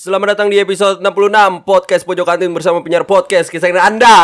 Selamat datang di episode 66 Podcast Pojok Kantin bersama penyiar podcast kesayangan Anda.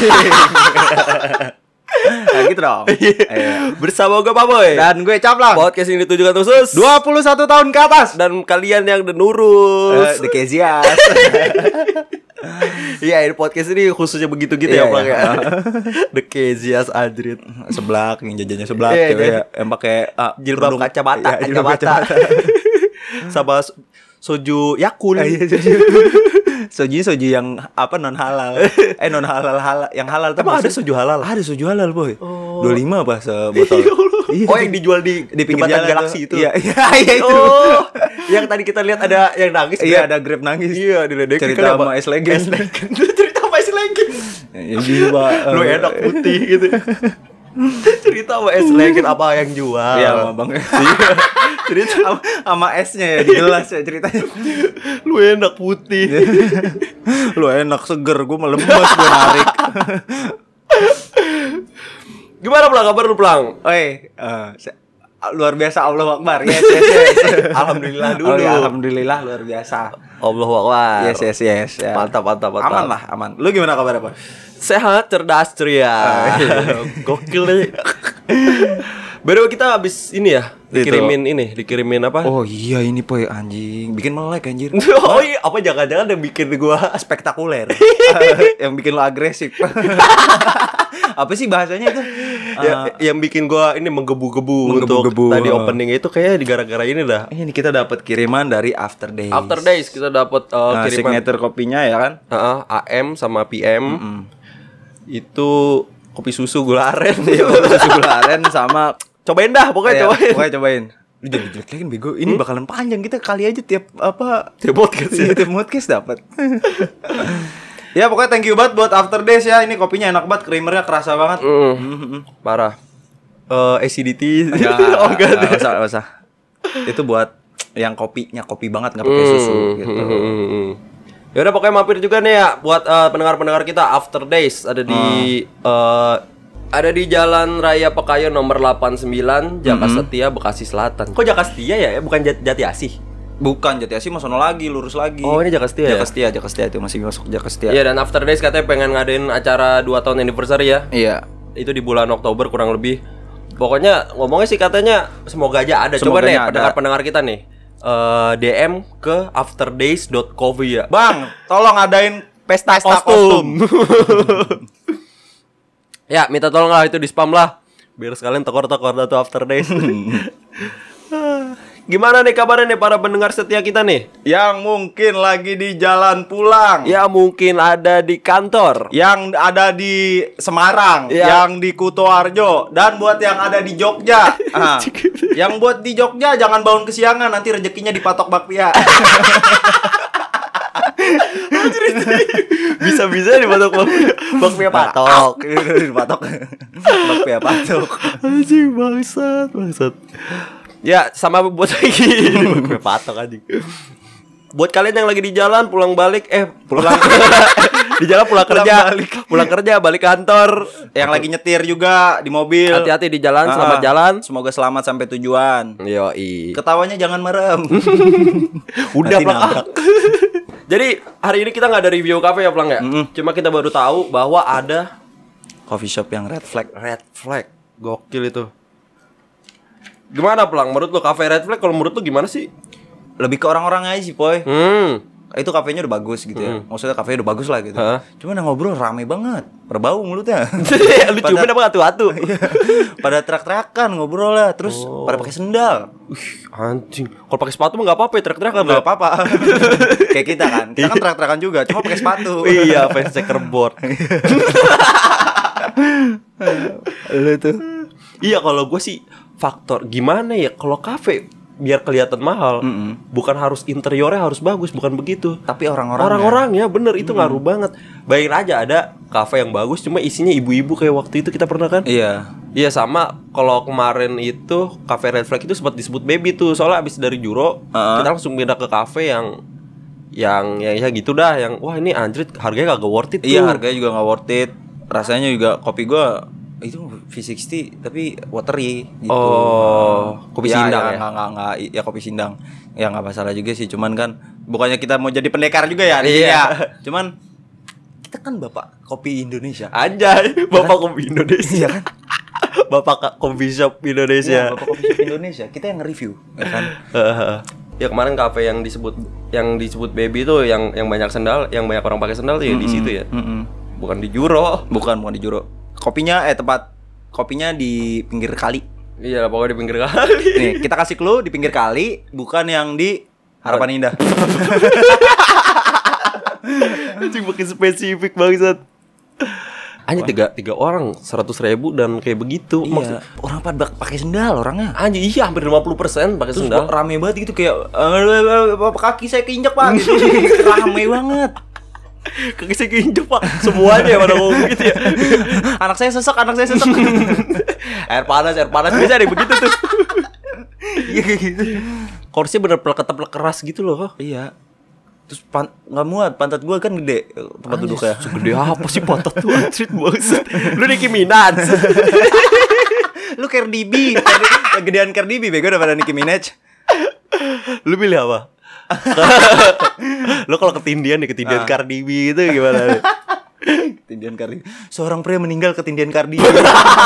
Nah gitu dong. Bersama gue Pak Boy Dan gue Caplang. Podcast ini ditujukan khusus 21 tahun ke atas. dan kalian yang udah nurus. The Kezias. Iya, ini podcast ini khususnya begitu-gitu ya, Iya, Bang iya. ya. The Kezias Adrit. Seblak, yang jajannya seblak Iya, cewek iya. yang pakai Jilbab kerudung. kacamata, Iya, jilbab kacamata. Sama soju Yakul. Iya, soju yang apa non halal. Non halal yang halal tuh. Emang ada maksud- soju halal? Ada soju halal, Boy. Oh. 25 apa sebotol. Iya. Oh, yang dijual di pinggir jembatan jalan Galaksi tuh. itu. Iya, iya itu. Oh, yang tadi kita lihat ada yang nangis. Iya, ada Grab nangis. Iya, diledekin Cerita kan, sama Pak. S Legend. Cerita sama S Legend. Ya gitu, Pak. Lu enak putih gitu. Cerita sama S Legend apa yang jual. Iya, sama Bang. Cerita Sama S-nya ya, jelas ya ceritanya. lu enak putih. Lu enak seger, gue melemes gue narik. Gimana Plang? Kabar lu Plang? Oi, luar biasa, Allahu Akbar. Yes. Alhamdulillah dulu. Oh, ya, alhamdulillah luar biasa. Allahu Akbar. Yes. Ya. Mantap. Aman lah, aman. Lu gimana kabar apa? Sehat, cerdas, ceria. Gokil nih. Baru kita habis ini ya, dikirimin apa? Oh iya ini Poy, anjing, bikin melek anjir. Oh iya, apa jangan-jangan yang bikin gua Spektakuler. Yang bikin lo agresif. Apa sih bahasanya itu? yang bikin gua ini menggebu-gebu untuk tadi opening itu kayaknya gara-gara ini dah. Ini kita dapat kiriman dari After Days. After Days kita dapat kiriman signature kopinya ya kan? AM sama PM. Itu kopi susu gula aren. Iya, susu gula aren sama Cobain dah, pokoknya cobain. Lu jangan jelek-jelekin bego. Ini bakalan panjang, kita kali aja tiap podcast ya. tiap podcast dapat. Ya pokoknya thank you banget buat After Days ya. Ini kopinya enak banget, creamernya kerasa banget. Parah. Acidity. Oh enggak usah. Itu buat yang kopinya kopi banget, enggak pakai susu gitu. Ya udah pokoknya mampir juga nih ya buat pendengar-pendengar kita. After Days ada di Jalan Raya Pekayon nomor 89 Jaka Setia, Bekasi Selatan. Kok Jaka Setia ya? Bukan Jati Asih. Bukan Jati Asih, mau sono lagi, lurus lagi. Oh, ini Jaka Setia. Jaka Setia itu masih masuk Jaka Setia. Iya, dan After Days katanya pengen ngadain acara 2 tahun anniversary ya. Iya. Itu di bulan Oktober kurang lebih. Pokoknya ngomongnya sih katanya semoga aja ada. Coba Semoga nih ada. pendengar kita nih. DM ke afterdays.coffee ya. Bang, tolong adain pesta kostum. Ya, minta tolong lah itu di spam lah. Biar sekalian tekor-tekor datu After Days. Gimana nih kabarnya nih para pendengar setia kita nih? Yang mungkin lagi di jalan pulang. Ya mungkin ada di kantor. Yang ada di Semarang, Ya. yang di Kutoarjo, dan buat yang ada di Jogja. Yang buat di Jogja jangan bangun kesiangan, nanti rezekinya dipatok bakpia. Bisa-bisa dipatok bakpia patok. Dipatok. Bakpia patok. Anjing bangsat. Ya, sama buat lagi bakpia patok anjing. Buat kalian yang lagi di jalan pulang balik di jalan pulang kerja balik kantor, Yang lagi nyetir juga di mobil. hati-hati di jalan, selamat jalan. Semoga selamat sampai tujuan. Yoi. Ketawanya jangan merem. Udah Nanti Plang. nabrak. Jadi hari ini kita nggak ada review cafe ya Plang ya. Cuma kita baru tahu bahwa ada Coffee shop yang red flag. Red Flag. Gokil itu. Gimana Plang? Menurut lo cafe Red Flag? Kalau menurut lo gimana sih? Lebih ke orang-orang aja sih, Poy. Itu kafenya udah bagus gitu ya. Maksudnya kafenya udah bagus lah gitu. Cuman yang ngobrol rame banget. Berbau mulutnya. Lu ciumin apa atu-atu? Pada terak-terakan ngobrol lah. Terus pada pakai sendal. Anjing. Kalau pakai sepatu mah enggak apa-apa, ya, teriak-teriakan. Enggak apa-apa. Kayak kita kan. Kita kan terak-terakan juga, cuma pakai sepatu. Iya, fans checkerboard. Lu tuh. Iya, kalau gue sih faktor gimana ya kalau kafe biar kelihatan mahal, bukan harus interiornya harus bagus, bukan begitu. Tapi orang-orang Orang-orangnya bener itu ngaruh banget. Bayangin aja ada kafe yang bagus cuma isinya ibu-ibu kayak waktu itu kita pernah kan? Iya. Iya sama kalau kemarin itu kafe Red Flag itu sempat disebut baby tuh soalnya abis dari Juro kita langsung pindah ke kafe yang ya gitu dah yang wah ini anjrit harganya kagak worth it tuh. Iya, harganya juga nggak worth it. Rasanya juga kopi gua itu V60 tapi watery gitu. Oh, kopi ya, sindang ya? Nggak, ya kopi sindang. Ya nggak masalah juga sih, cuman kan Bukannya kita mau jadi pendekar juga ya di sini Iya. ya. Cuman kita kan bapak kopi Indonesia. Anjay, Bapak Kopi Indonesia. Iya kan? Bapak Coffee Shop Indonesia. Iya, bapak kopi shop Indonesia. Kita yang nge-review, ya kan? Ya kemarin kafe yang disebut Baby itu yang banyak sendal, yang banyak orang pakai sendal tuh ya di situ ya. Bukan di Juro. Bukan di Juro. Kopinya tempat kopinya di pinggir kali. Iya, pokoknya di pinggir kali. Nih, kita kasih clue di pinggir kali, bukan yang di Harapan Indah. Anjing makin spesifik bangsat. Anjing tiga orang 100.000 dan kayak begitu. Iya. Orang pada pakai sendal orangnya. Anjing iya hampir 50% pakai Terus sendal. rame banget gitu kayak kaki saya keinjak Pak gitu. Rame banget. Kaki saya keinjek Pak. Semuanya pada ngomong gitu ya. Anak saya sesek. Air panas bisa deh begitu tuh. Iya kayak gitu. Kursinya bener plek keras gitu loh. Iya. Terus nggak muat, pantat gua kan gede tempat duduknya. Segede apa sih pantat tuh anjir banget. Lu Nicki Minaj. Lu Cardi B, gedean Cardi B bego daripada Nicki Minaj. Lu pilih apa? Lu kalau ketindian Cardi B itu gimana? Ketindian Cardi. Seorang pria meninggal ketindian Cardi B.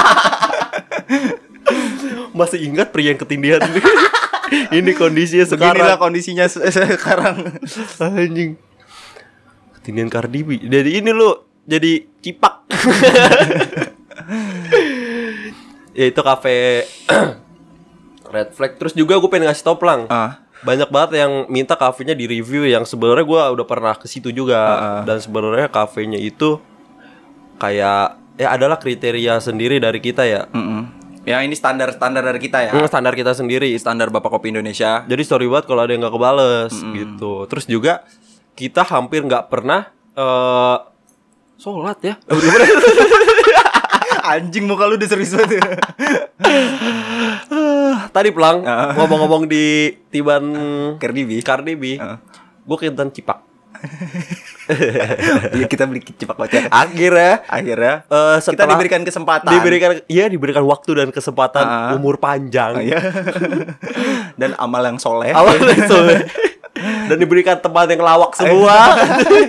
Masih ingat pria yang ketindian? Ini kondisinya sekarang. Beginilah kondisinya sekarang. Anjing. Ketindian Cardi B. Jadi ini lu jadi cipak. Ya itu kafe Red Flag. Terus juga gue pengen ngasih tau Plang. Banyak banget yang minta kafenya di review yang sebenarnya gue udah pernah ke situ juga. Dan sebenarnya kafenya itu kayak ya adalah kriteria sendiri dari kita ya. Ya ini standar dari kita ya. Standar kita sendiri. Standar Bapak Kopi Indonesia. Jadi sorry banget kalau ada yang gak kebales gitu. Terus juga kita hampir gak pernah sholat ya. Anjing muka lu udah serius banget. Tadi Plang ngomong-ngomong di Tiban Cardi B. Gue kintan cipak. Iya kita beli cipak kocek. Akhirnya kita diberikan kesempatan. Diberikan waktu dan kesempatan umur panjang. Dan amal yang soleh. Dan diberikan tempat yang lawak semua.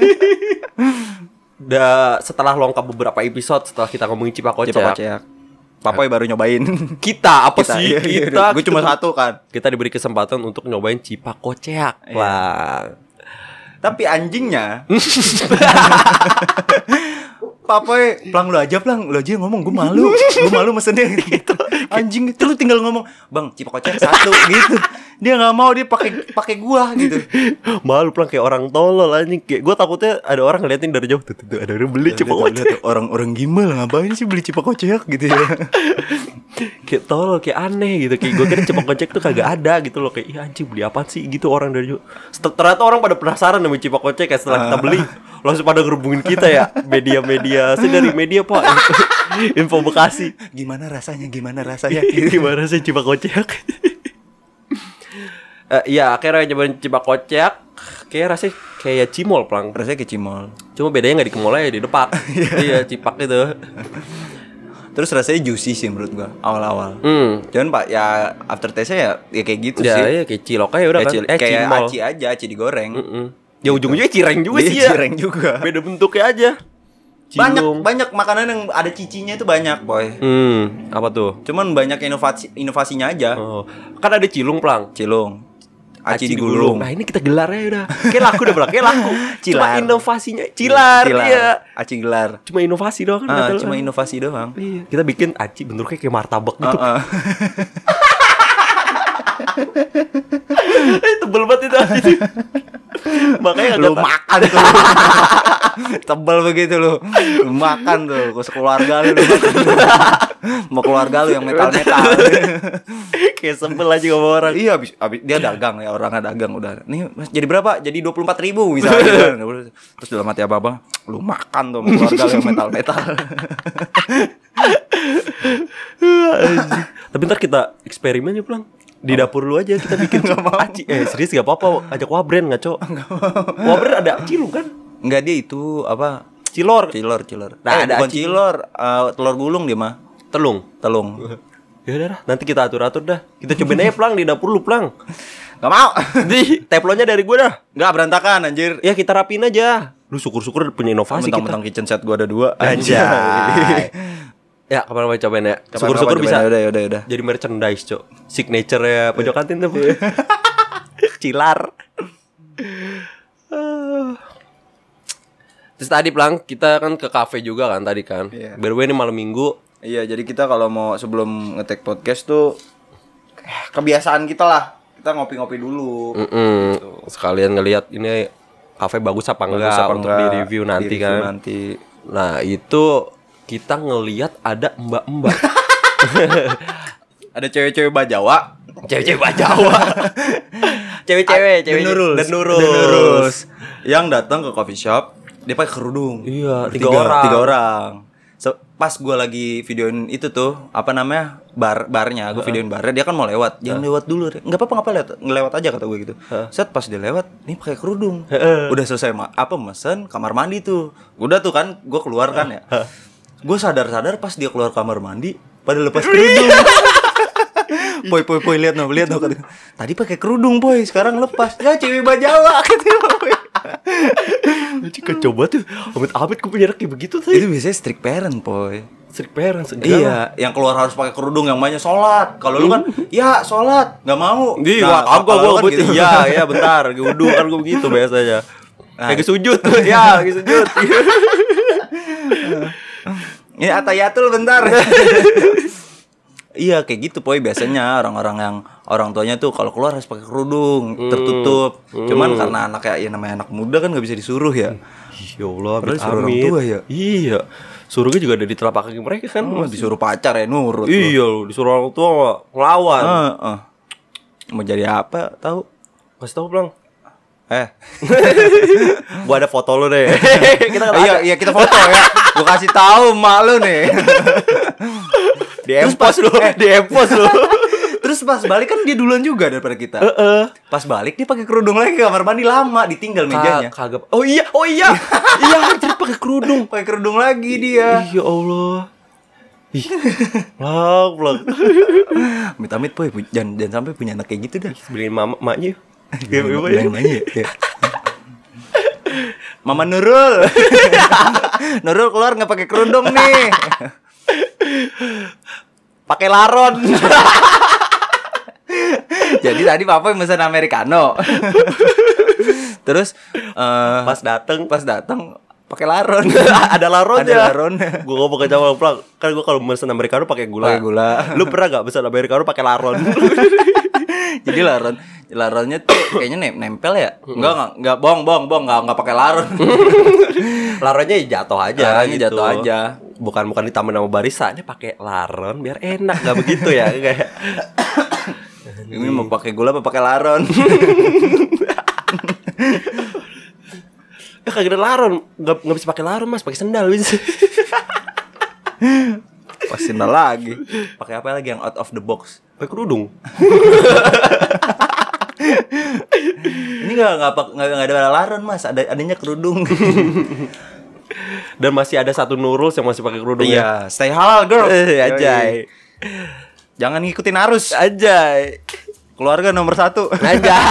Setelah lengkap beberapa episode setelah kita ngomongin cipak kocek. Papoy baru nyobain. Kita apa sih? Kita gue cuma satu kan. Kita diberi kesempatan untuk nyobain cipak kocek lah. Tapi anjingnya Papoy, Plang lu aja yang ngomong, gue malu mesennya gitu. Anjing itu lu tinggal ngomong, "Bang, cipak kocek satu" gitu. Dia enggak mau, dia pakai gua gitu. Malu Plang kayak orang tolol anjing. Kayak gua takutnya ada orang ngeliatin dari jauh tuh ada orang beli cipak kocek. Orang gimbal ngapain sih beli cipak kocek gitu ya. Kayak tolol, kayak aneh gitu. Kayak gue kira cipak kocek tuh kagak ada gitu loh. Kayak ih anjing beli apaan sih gitu orang dari jauh. Ternyata orang pada penasaran sama cipak kocek kayak setelah kita beli langsung pada ngerubungin kita ya. Media-media, saya dari media Pak. Info Bekasi. Gimana rasanya? Gimana rasanya cipak kocek? Iya, akhirnya nyobain cipak kocek. Kayak rasanya kayak cimol Plang. Rasanya kayak cimol. Cuma bedanya nggak di kemol aja, di depak. Iya, cipak itu. Terus rasanya juicy sih menurut gua awal-awal. Cuman Pak ya after taste-nya ya kayak gitu ya, sih. Ya kayak cilok aja udah kan. Kayak cimol. aci aja, aci digoreng. Ya ujung-ujungnya cireng juga sih ya. Cireng juga. Beda bentuknya aja. Banyak makanan yang ada cicinya itu banyak, Boy. Apa tuh? Cuman banyak inovasinya aja. Kan ada cilung Plang. Cilung. Aci digulung. Nah, ini kita gelar aja udah. Kayak laku udah Plang, kayak laku. Cilar. Cuma inovasinya cilar. Iya. Aci gelar. Cuma inovasi doang kan. Cuma inovasi doang. Iya. Kita bikin aci bentuknya kayak martabak gitu. Tebel banget itu aci. Makanya lu makan tuh. Tebel begitu lu makan tuh, ke sekeluarga lu makan tuh. Mau keluarga lu yang metal-metal. Kayak sebel aja sama orang. Iya abis dia dagang ya, orangnya dagang udah. Nih jadi berapa? Jadi 24.000 misalnya gitu. Terus dalam hati apa-apa, lu makan tuh sama keluarga lu yang metal-metal. Tapi ntar kita eksperimen ya Plang. Di dapur lu aja kita bikin aci. Serius gak apa-apa, ajak Wabren ngaco. Wabren ada cilung kan? Enggak, dia itu apa? Cilor. Nah, ada bukan cilor, telur gulung dia mah. Telung. Ya Ya udah, nanti kita atur-atur dah. Kita cobain aja Plang di dapur lu Plang. Gak mau. Di teflonnya dari gue dah. Gak berantakan anjir. Ya kita rapiin aja. Lu syukur-syukur punya inovasi kita. Mentang-mentang kitchen set gua ada 2. Anjay. Ya kapan mau cobain ya. Syukur-syukur bisa. Udah. Jadi merchandise, Cok. Signature ya pojok kantin tuh. Cilar. Terus tadi Plang, kita kan ke kafe juga kan tadi kan. Iya. By the way ini malam minggu. Iya, jadi kita kalau mau sebelum nge-take podcast tuh kebiasaan kita lah. Kita ngopi-ngopi dulu. Gitu. Sekalian ngelihat ini kafe bagus apa enggak untuk di-review nanti kan. Nanti. Nah, itu kita ngelihat ada mbak-mbak. Ada cewek-cewek Bajawa. Cewek-cewek Bajawa. Cewek-cewek Dan Nurus. Yang datang ke coffee shop, dia pakai kerudung. Iya, Tiga orang. Pas gue lagi videoin itu tuh, apa namanya, barnya, gue videoin barnya, dia kan mau lewat, jangan lewat dulu, nggak apa-apa ngelewat aja kata gue gitu. Set pas dia lewat, nih pakai kerudung, udah selesai mesen kamar mandi tuh, udah tuh kan, gue keluar kan ya, gue sadar pas dia keluar kamar mandi, pada lepas kerudung. Poy lihat no tadi pakai kerudung boy, sekarang lepas, ya cewek Bajawa katanya boy. Cika coba tuh amit-amit gue punya anak kayak begitu tuh. Itu biasanya strict parent, boy. Strict parents. Iya, yang keluar harus pakai kerudung, yang banyak sholat. Kalau lu kan, ya sholat, nggak mau. Iya, kagak gue gitu. Iya, bentar, gue wudu kan gue begitu biasanya. Lagi sujud tuh, ya lagi sujud. Ini atayatul bentar. Iya kayak gitu boy, biasanya orang-orang yang orang tuanya tuh kalau keluar harus pakai kerudung tertutup. Cuman karena anaknya ya namanya anak muda kan nggak bisa disuruh ya. Ya Allah, disuruh orang tua ya. Iya. Suruhnya juga ada di telapak kaki mereka kan. Disuruh pacar ya nurut. Iya lu, disuruh orang tua ngelawan. Mau jadi apa tahu? Kasih tahu Bang. Gua ada foto lu deh. Iya kita foto ya. Gua kasih tahu emak lu nih. Di empos lu. Terus pas balik kan dia duluan juga daripada kita. Pas balik dia pakai kerudung lagi ke kamar mandi, lama ditinggal mejanya. Kagak. Oh iya. Iya, anjir pakai kerudung. Pakai kerudung lagi dia. Ya Allah. Ih. Blak. Amit-amit boy, jangan sampai punya anak kayak gitu dah. Beliin maknya. Ya. Mama Nurul. Nurul keluar enggak pakai kerudung nih. Pakai laron. Jadi tadi papa pesan americano. Terus pas datang pakai laron. Ada laronnya. Gue ngomong ke Jamal Plang, kan gue kalau pesan americano pakai gula. Lu pernah enggak pesan americano pakai laron? Jadi laronnya tuh kayaknya nempel ya? Enggak bohong, enggak pakai laron. Laronnya jatuh aja. Jatuh aja. Bukan ditambah nama barista, ini pakai laron biar enak, enggak begitu ya kayak. Ini mau pakai gula apa pakai laron? Ya kagak ada laron, enggak bisa pakai laron Mas, pakai sendal bisa. Pas sendal lagi. Pakai apa lagi yang out of the box? Pakai kerudung. Ini enggak ada laron Mas, adanya kerudung. Dan masih ada satu Nurul yang masih pakai kerudung. Iya, stay halal girl. Ajay. Jangan ngikutin arus. Ajay. Keluarga nomor 1. Ajay.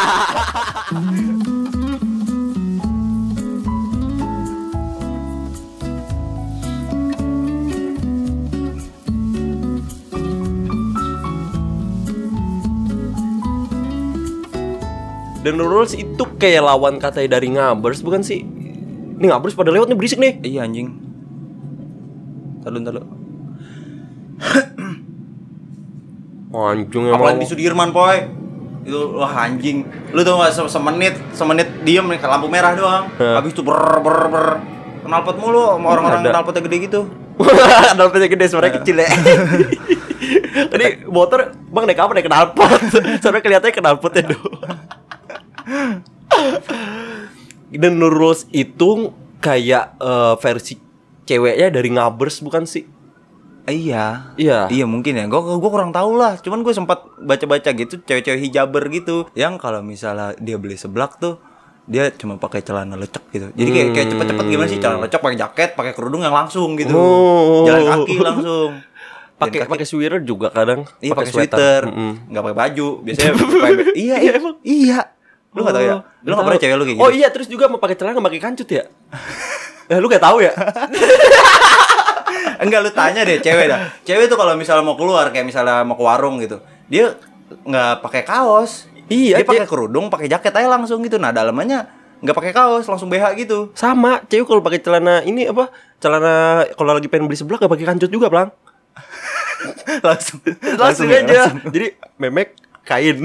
Dan Nurul itu kayak lawan katanya dari Ngabers bukan sih? Ini Ngabers pada lewat nih berisik nih. Iya anjing. Talu. Anjing apalagi di Sudirman poy. Itu wah anjing. Lu tau gak semenit diem nih ke lampu merah doang. Habis itu ber knalpot mulu sama orang-orang knalpotnya gede gitu. Knalpotnya gede suaranya kecil ya. Tadi motor Bang naik apa naik knalpot. Soalnya kelihatannya knalpotnya doang. Dan Nurul itu kayak versi ceweknya dari Ngabers bukan sih? Iya mungkin ya. Gue kurang tahu lah. Cuman gue sempat baca-baca gitu cewek-cewek hijaber gitu. Yang kalau misalnya dia beli seblak tuh dia cuma pakai celana lecek gitu. Jadi kayak cepet-cepet gimana sih celana lecek pakai jaket, pakai kerudung yang langsung gitu. Jalan kaki langsung. Pakai sweater juga kadang. Iya pakai sweater, nggak pakai baju. Biasanya iya emang. Iya. Lu nggak tahu ya? Lu nggak pernah cewek lu kayak gitu? Oh iya, terus juga mau pakai celana nggak pakai kancut ya? Lu gak tahu ya? Enggak, lu tanya deh cewek dah. Cewek tuh kalau misalnya mau keluar kayak misalnya mau ke warung gitu, dia nggak pakai kaos. Iya, dia pakai kerudung, pakai jaket aja langsung gitu. Nah, dalamannya nggak pakai kaos, langsung BH gitu. Sama, cewek kalau pakai celana ini apa? Celana kalau lagi pengen beli seblak gak pakai kancut juga, Plang. langsung aja. Jadi memek kain.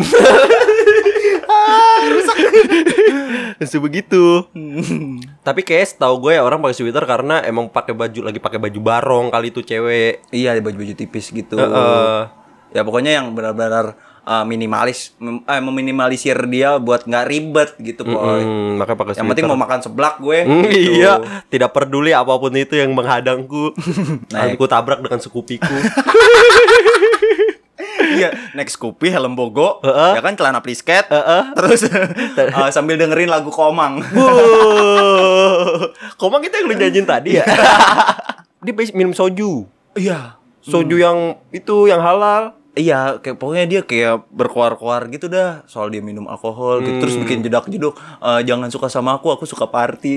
Langsung begitu. Tapi kayak setahu gue ya orang pakai sweater karena emang pakai baju barong kali itu cewek. Iya, baju-baju tipis gitu. Ya pokoknya yang benar-benar meminimalisir dia buat nggak ribet gitu, boy. Makanya pakai sweater. Yang penting mau makan seblak gue. Gitu. Iya, tidak peduli apapun itu yang menghadangku. Aku tabrak dengan sekupiku. Iya, naik Scoopy, helm bogo, ya kan celana plisket, terus sambil dengerin lagu Komang. Komang kita yang lu nyanyiin tadi ya. Dia minum soju. Iya, soju yang itu yang halal. Iya, kayak pokoknya dia kayak berkuar-kuar gitu dah soal dia minum alkohol gitu. Terus bikin jedak-jeduk, jangan suka sama aku suka party.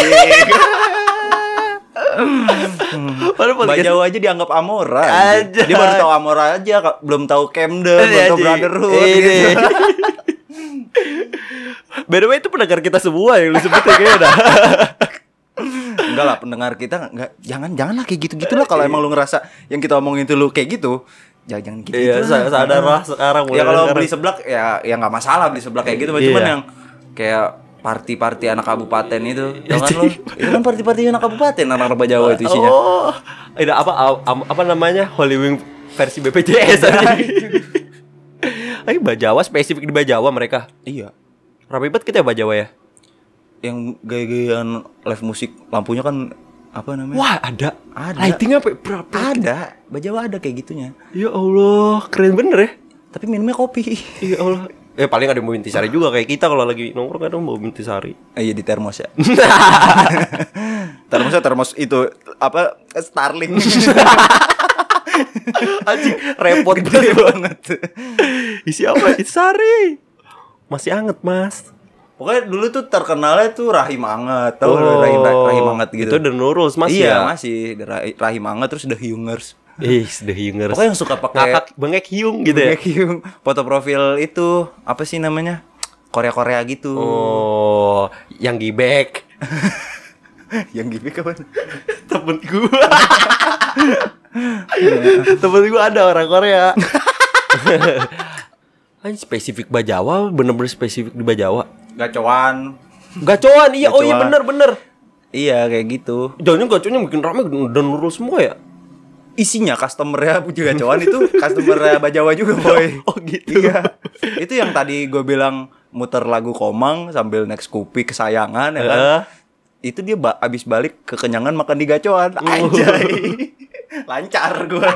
Mbak Jawa aja dianggap Amora. Dia baru tahu Amora aja, belum tahu Camden, belum tahu Brotherhood gitu. By the way itu pendengar kita semua yang lu sebutin kayaknya dah. Enggak lah, pendengar kita enggak, janganlah kayak gitu-gitulah kalau emang lu ngerasa yang kita omongin itu lu kayak gitu. Jangan gitu. Iya, sadarlah sekarang. Ya kalau beli seblak ya enggak masalah beli seblak kayak gitu, cuman yang kayak party anak kabupaten itu, jangan lo. Itu kan party anak kabupaten, anak Jawa itu isinya. Oh, ada apa namanya? Holy Wing versi BPJS aja. Bajawa spesifik di Bajawa mereka. Iya. Rapi banget kita Bajawa ya. Yang gaya-gayaan live musik lampunya kan apa namanya? Wah, ada. Lighting apa? Ada. Bajawa ada kayak gitunya. Ya Allah, keren bener ya. Tapi minumnya kopi. Ya Allah. Paling ada yang mau intisari juga kayak kita kalau lagi nongkrong kadang mau intisari. Iya di termos ya. Termos itu apa Starling. Anjing repot banget. Isi apa? Intisari. Masih anget, Mas. Pokoknya dulu tuh terkenalnya tuh rahim anget. Tahu rahim anget gitu. Itu The Nurul's masih iya, ya? Masih rahim anget terus The Hyungers. The Hyungers. Pokoknya yang suka pakai bengek Hyung gitu ya. Bengek Hyung. Foto profil itu apa sih namanya? Korea gitu. Oh, yang gibek. Yang gibek apa? Temen gua ada orang Korea. Spesifik Bajawa, bener-bener spesifik di Bajawa. Gacoan, iya. Oh iya bener. Iya kayak gitu. Jangan gacoannya bikin rame dan nurul semua ya. Isinya customer-nya juga gacoan itu customer Bajawa juga, boy. Oh gitu. Iya. Itu yang tadi gue bilang muter lagu Komang sambil naik Scoopy kesayangan ya kan. Itu dia abis balik kekenyangan makan di gacoan. Anjay. Lancar gue.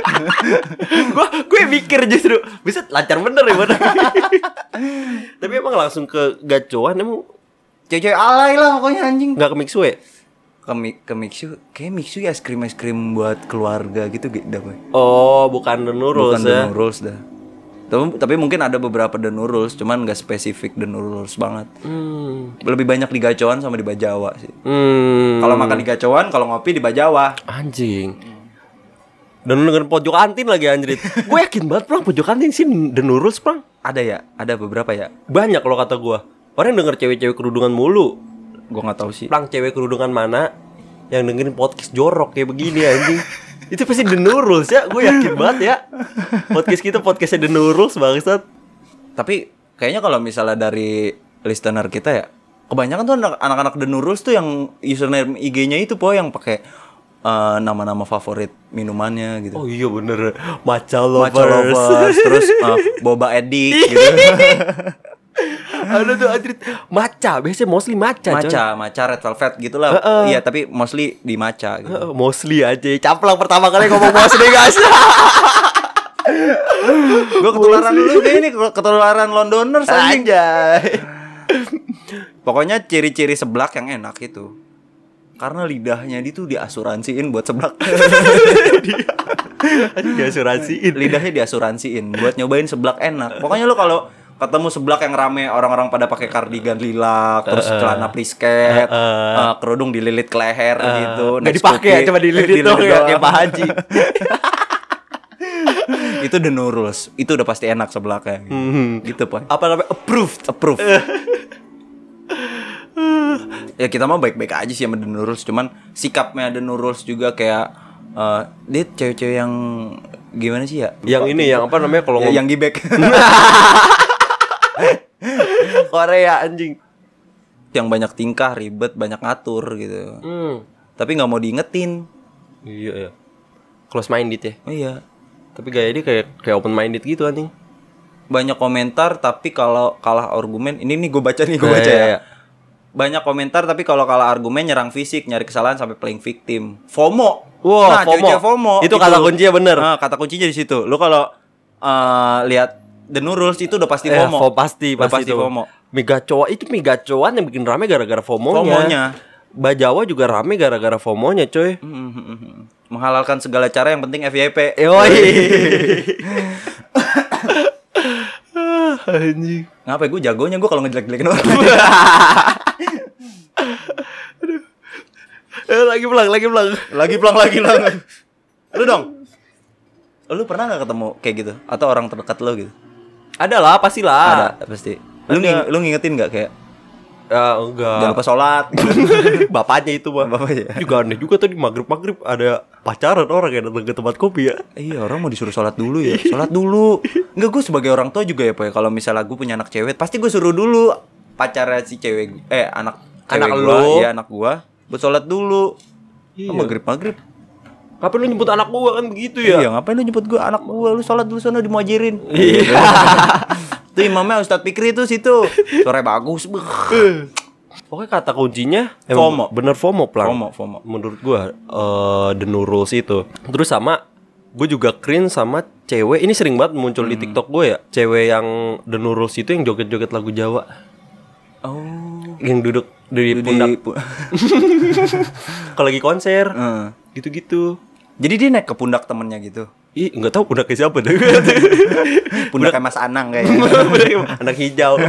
gue mikir justru bisa lancar bener ya bener. Tapi emang langsung ke gacoan emang cewek alay lah pokoknya anjing. Nggak ke Mixue? Ke Mixue, kayak Mixue es krim buat keluarga gitu dah, boy. Oh, bukan The Nurul's ya? Bukan The Nurul's dah. Tapi mungkin ada beberapa The Nurul's, cuman nggak spesifik The Nurul's banget. Lebih banyak di gacoan sama di Bajawa sih. Kalau makan di gacoan, kalau ngopi di Bajawa. Anjing. Dan dengan pojok kantin lagi anjrit. Gue yakin banget Plang pojok kantin sih The Nurul's Plang. Ada ya? Ada beberapa ya? Banyak kalau kata gue. Orang yang denger cewek-cewek kerudungan mulu. Gue nggak tahu sih. Plang cewek kerudungan mana yang dengerin podcast jorok kayak begini anjing. Itu pasti The Nurul's ya. Gue yakin banget ya. Podcastnya The Nurul's bangsat. Tapi kayaknya kalau misalnya dari listener kita ya, kebanyakan tuh anak-anak The Nurul's tuh yang username IG-nya itu yang pakai nama-nama favorit minumannya gitu. Oh iya bener. Matcha lovers. Terus boba edik gitu. Ada tuh anjrit matcha, biasanya mostly matcha red velvet gitulah. Iya, tapi mostly di matcha gitu. Mostly aja. Camplang pertama kali ngomong mostly, guys. Gue ketularan dulu kayak ini, ketularan Londoners anjing. Anjay. Pokoknya ciri-ciri seblak yang enak itu. Karena lidahnya dia tuh diasuransiin buat seblak. Aduh, diasuransiin. Lidahnya diasuransiin buat nyobain seblak enak. Pokoknya lu kalau ketemu seblak yang rame, orang-orang pada pakai kardigan lilac, terus celana plisket, kerudung dililit ke leher gitu. Nggak dipakai ya, cuma dililit doang ya, kayak Pak Haji. Itu the new rules. Itu udah pasti enak seblaknya. Gitu, Pak. Apa namanya? Approved. Ya kita mah baik-baik aja sih sama The Nurulz, cuman sikapnya The Nurulz juga kayak dia cewek-cewek yang gimana sih ya? Yang ini yang apa namanya kalau yang gibek. Korea anjing. Yang banyak tingkah, ribet, banyak ngatur gitu. Tapi nggak mau diingetin. Iya ya. Close minded ya. Oh, iya. Tapi gaya dia kayak open minded gitu anjing. Banyak komentar tapi kalau kalah argumen, ini nih gue baca ya. Iya. Banyak komentar tapi kalau kalah argumen nyerang fisik, nyari kesalahan sampai playing victim. FOMO. Wah, Nah, cewek-cewek FOMO. Itu kata kuncinya bener. Nah, kata kuncinya di situ. Lu kalau lihat The Nurulz itu udah pasti FOMO. Pasti itu. FOMO. Migacoan yang bikin rame gara-gara FOMO-nya. Bajawa juga rame gara-gara FOMO-nya, coy. Menghalalkan segala cara yang penting FYP. Anjing. Ngapa gue jagonya gue kalau ngejelek-jelekin orang. Lagi pelang. Lagi pelang. Lu dong. Lu pernah gak ketemu kayak gitu? Atau orang terdekat lu gitu? Ada lah, pastilah. Ada, pasti. Lu ngingetin gak kayak enggak. jangan lupa sholat. Bapaknya itu mah. Bapaknya. Juga aneh juga tadi maghrib ada pacaran orang yang datang ke tempat kopi ya. Iya, orang mau disuruh sholat dulu ya. Sholat dulu. Enggak, gue sebagai orang tua juga ya, Pak. Kalau misalnya gue punya anak cewek, pasti gue suruh dulu pacarnya si cewek anak lu. Iya, anak gua buat sholat dulu. Iya. Maghrib. Ngapain lu nyebut anak gua kan begitu ya? Iya, ngapain lu nyebut gua anak gua? Lu sholat dulu sana dimuajirin. Iya. Tuh imamnya Ustadz Fikri tuh situ. Suaranya bagus. Pokoknya kata kuncinya FOMO. Bener FOMO, Plang. FOMO. Menurut gua The Nurulz itu. Terus sama gue juga cringe sama cewek. Ini sering banget muncul di TikTok gue ya. Cewek yang The Nurulz itu yang joget-joget lagu Jawa. Oh. Yang duduk di pundak. Kalau lagi konser. Gitu-gitu. Jadi dia naik ke pundak temennya gitu. Ih, enggak tahu pundaknya siapa deh. Pundaknya Mas Anang kayaknya. Anak hijau.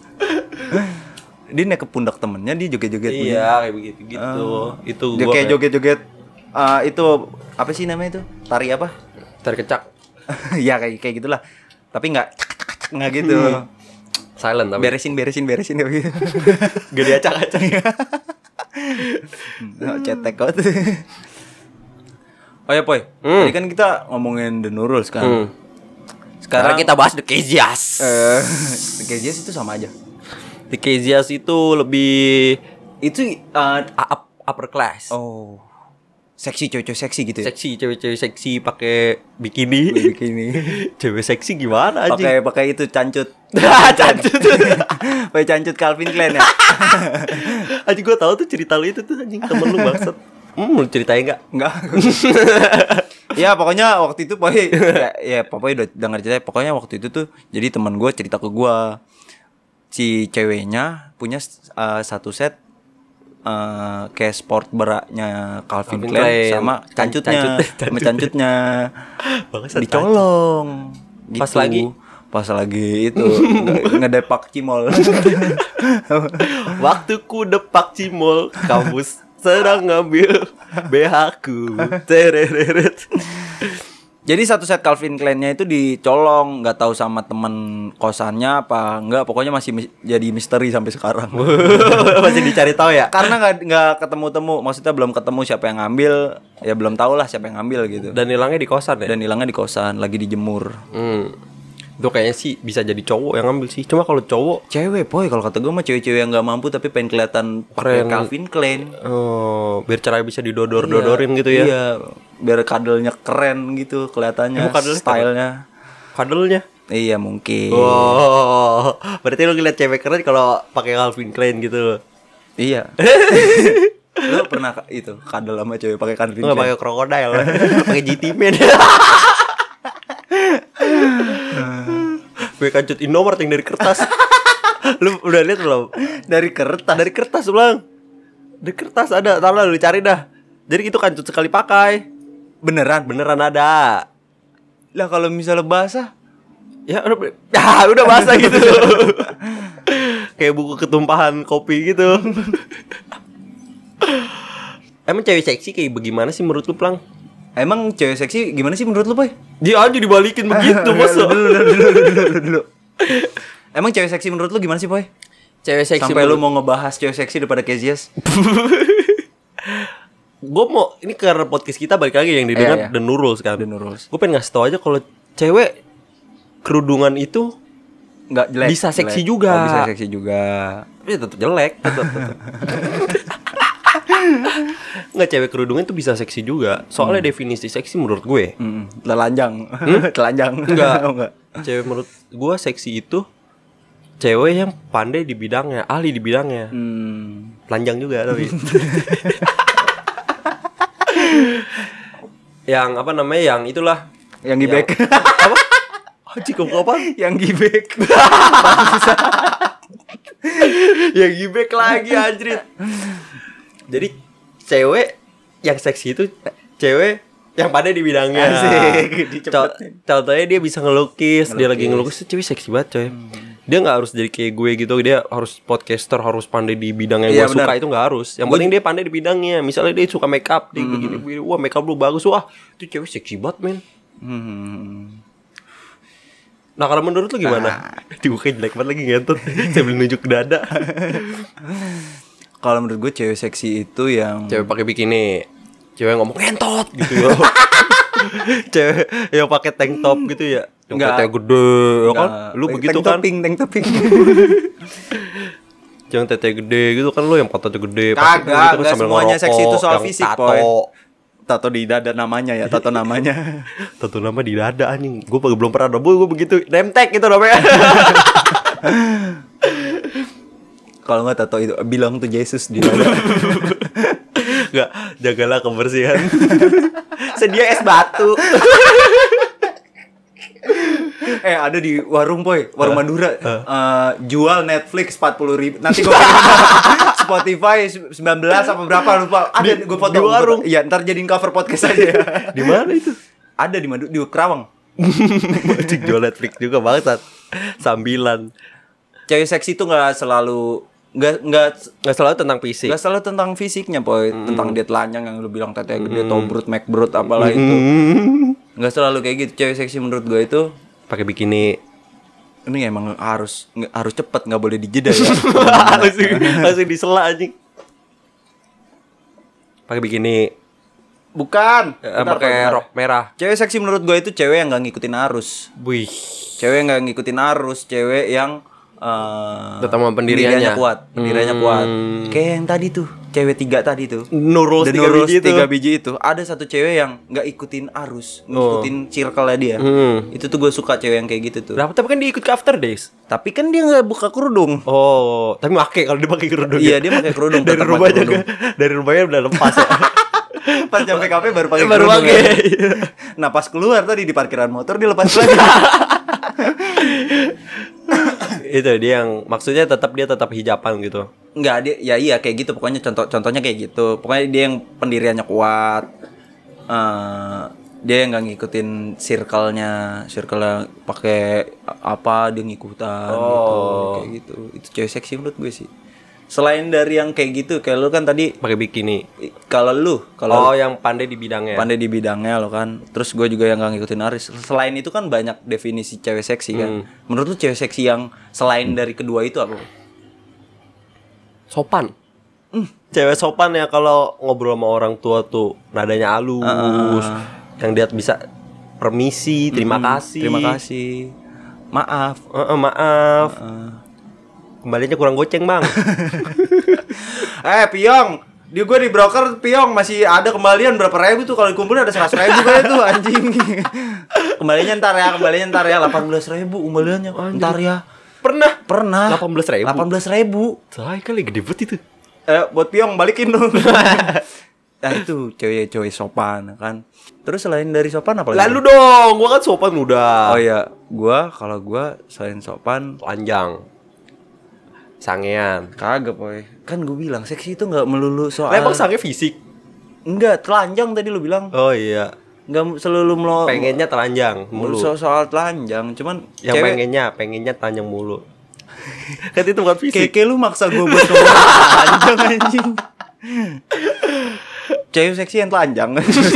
Dia naik ke pundak temennya, dia joget-joget. Iya, kayak begitu gitu. Itu dia gua kayak joget-joget. Itu apa sih namanya itu? Tari apa? Tari kecak. Ya kayak gitulah. Tapi nggak gitu. Silent tapi. Beresin gitu. Gak diacak-acak. Cetek kok. Oh ya, Poy. Tadi kan kita ngomongin The Nurulz kan. Sekarang kita bahas The Kezias. The Kezias itu sama aja. The Kezias itu lebih Itu upper class. oh. Seksi, cewek seksi gitu ya. Seksi, cewek-cewek seksi pakai bikini. Cewek seksi gimana anjing? Pakai itu cancut. Cancut. Pakai cancut Calvin Klein ya. Anjing gua tahu tuh cerita lu itu tuh anjing, temen lu bangsat. Lu ceritain enggak? Enggak. Ya pokoknya waktu itu pokoknya udah dengar cerita. Pokoknya waktu itu tuh jadi teman gue cerita ke gue, si ceweknya punya satu set kayak sport beraknya Calvin Klein sama cancutnya dicolong gitu. Pas lagi itu ngedepak cimol. Waktuku depak cimol, kampus sedang ngambil BH-ku. Tereret. Jadi satu set Calvin Klein-nya itu dicolong, nggak tahu sama teman kosannya apa enggak, pokoknya masih jadi misteri sampai sekarang. Masih dicari tahu ya? Karena nggak ketemu-temu, maksudnya belum ketemu siapa yang ngambil, ya belum tahu lah siapa yang ngambil gitu. Dan hilangnya di kosan ya? Dan hilangnya di kosan, lagi dijemur. Itu kayaknya sih bisa jadi cowok yang ngambil sih. Cuma kalau cowok cewek, Poy, kalau kata gue mah cewek-cewek yang nggak mampu tapi pengen kelihatan pakai Calvin Klein. Oh, biar cara bisa didodor-dodorin gitu ya. Iya, biar kadelnya keren gitu kelihatannya. Stylenya. Kadelnya? Iya, mungkin. Oh, berarti lu ngeliat cewek keren kalau pakai Calvin Klein gitu. Iya. Lu pernah itu kadel sama cewek pakai Calvin Klein? Enggak pakai krokodil, pakai GT Man. Gue kancut Indomart yang dari kertas. Lu udah lihat belum? Dari kertas. Dari kertas, Bang. Di kertas ada, tahu lah lu cari dah. Jadi itu kancut sekali pakai. Beneran? Beneran ada. Lah kalau misalnya basah, udah basah gitu. Kayak buku ketumpahan kopi gitu. Emang cewek seksi kayak bagaimana sih menurut lu, Plang? emang cewek seksi gimana sih menurut lu, Boy? Dia aja dibalikin begitu, masa? Dulu. Emang cewek seksi menurut lu gimana sih, Boy? Cewek seksi Sampai lu mau ngebahas cewek seksi daripada Kezias. Gue mau, ini karena podcast kita balik lagi yang didengar The Nurul sekarang. The Nurul. Gue pengen ngasih tau aja kalau cewek kerudungan itu Nggak jelek. bisa seksi jelek. juga. Oh, bisa seksi juga. Tapi tetap jelek, tetap. Nggak, cewek kerudungan itu bisa seksi juga. Soalnya definisi seksi menurut gue. Telanjang. Telanjang. Enggak. Cewek menurut gue seksi itu cewek yang pandai di bidangnya, ahli di bidangnya. Telanjang juga tapi. Yang apa namanya? Yang itulah. Yang gibek. Apa? Haji kok apa? Yang gibek. Yang gibek lagi anjrit. Jadi cewek yang seksi itu cewek yang pandai di bidangnya. Asik. Contohnya dia bisa ngelukis. Dia lagi ngelukis tuh cewek seksi banget coy. Dia gak harus jadi kayak gue gitu. Dia harus podcaster, harus pandai di bidang yang gue suka. Itu gak harus. Yang penting dia pandai di bidangnya. Misalnya dia suka make up, dia begini. Wah, make up lu bagus. Wah, itu cewek seksi banget, men. Nah, kalau menurut lu gimana? Dibukain jelek banget lagi ngentot. Sambil nunjuk ke dada. Kalau menurut gue cewek seksi itu yang Cewek pakai bikini. Cewek ngomong ngentot gitu ya. Cewek yang pakai tank top gitu ya. Yang tetenya gede ya kan. Lu begitu kan. Tank topping. Yang tetenya gede gitu kan, lu yang pantatnya gede. Kagak, gitu kan, semuanya seksi itu soal fisik, tato. Boy. Tato di dada namanya ya, tato namanya. Tato nama di dada anjing. Gue belum pernah ada, gue begitu. Nemtek gitu namanya. Kalau nggak tato itu bilang tuh Yesus di dada. Enggak, jagalah kebersihan. Sedia es batu. Ada di warung, Boy, warung Madura. Jual Netflix 40.000. Nanti gue Spotify 19 apa berapa lupa. Ada gue foto di warung. Iya, ntar jadiin cover podcast aja ya. Di mana itu? Ada di di Kerawang. Cik jual Netflix juga bangsat. Sambilan. Cewek seksi itu nggak selalu selalu tentang fisik. Nggak selalu tentang fisiknya, Boy. Tentang dia telanjang yang lu bilang tetenya gede, tobrut, macbrut apalah itu. Nggak selalu kayak gitu. Cewek seksi menurut gue itu pakai bikini. ini emang harus cepet, nggak boleh dijeda ya. langsung disela anjing. Pakai bikini. Bukan. Pakai rok merah. Cewek seksi menurut gue itu cewek yang nggak ngikutin arus. Wih. Cewek yang nggak ngikutin arus, cewek yang tetap sama pendiriannya kuat. Kayak yang tadi tuh, cewek 3 tadi tuh. Nurul 3 biji itu. Ada satu cewek yang nggak ikutin arus, ngikutin circle-nya dia. Itu tuh gue suka cewek yang kayak gitu tuh. Nah, tapi kan dia ikut ke After Days. Tapi kan dia nggak buka kerudung. Oh, tapi pakai kalau dia pakai kerudung. Iya, dia pakai kerudung. Dari rumahnya udah lepas ya. Pas nyampe kafe baru pakai kerudung. Nah, pas keluar tadi di parkiran motor dia lepas lagi. Itu dia yang maksudnya dia tetap hijaban gitu. Enggak, dia ya iya kayak gitu pokoknya contohnya kayak gitu. Pokoknya dia yang pendiriannya kuat. Dia yang enggak ngikutin circle-nya pakai apa dia ngikutan gitu. Kayak gitu. Itu cewek seksi menurut gue sih. Selain dari yang kayak gitu, kayak lu kan tadi pakai bikini. Kalau yang pandai di bidangnya. Pandai di bidangnya lo kan. Terus gue juga yang gak ngikutin arus. Selain itu kan banyak definisi cewek seksi kan. Menurut lu cewek seksi yang selain dari kedua itu apa? Sopan. Cewek sopan ya kalau ngobrol sama orang tua tuh nadanya halus. Yang dia bisa permisi, terima kasih. Maaf. Kembalinya kurang goceng, Bang. Piong, gue di broker Piong masih ada kembalian berapa ribu tuh kalau dikumpulin ada 100.000 kayak tuh anjing. Kembalinya ntar ya 18.000 kembaliannya. Ntar ya. Pernah. 18.000. Say kali gede banget itu. Buat Piong balikin dong. Nah itu cewek sopan kan. Terus selain dari sopan apa lagi? Lalu dong, gua kan sopan udah. Oh iya, kalau gua selain sopan telanjang. Sangean. Kagak, Poy. Kan gue bilang seksi itu nggak melulu soal. Lah, emang sange fisik? Enggak, telanjang tadi lu bilang. Oh iya. Nggak selalu Pengennya telanjang mulu. soal telanjang, cuman Yang cewek pengennya telanjang mulu. Kan itu bukan fisik. kayak lu maksa gue buat ngomong telanjang anjing. Cewek seksi yang telanjang.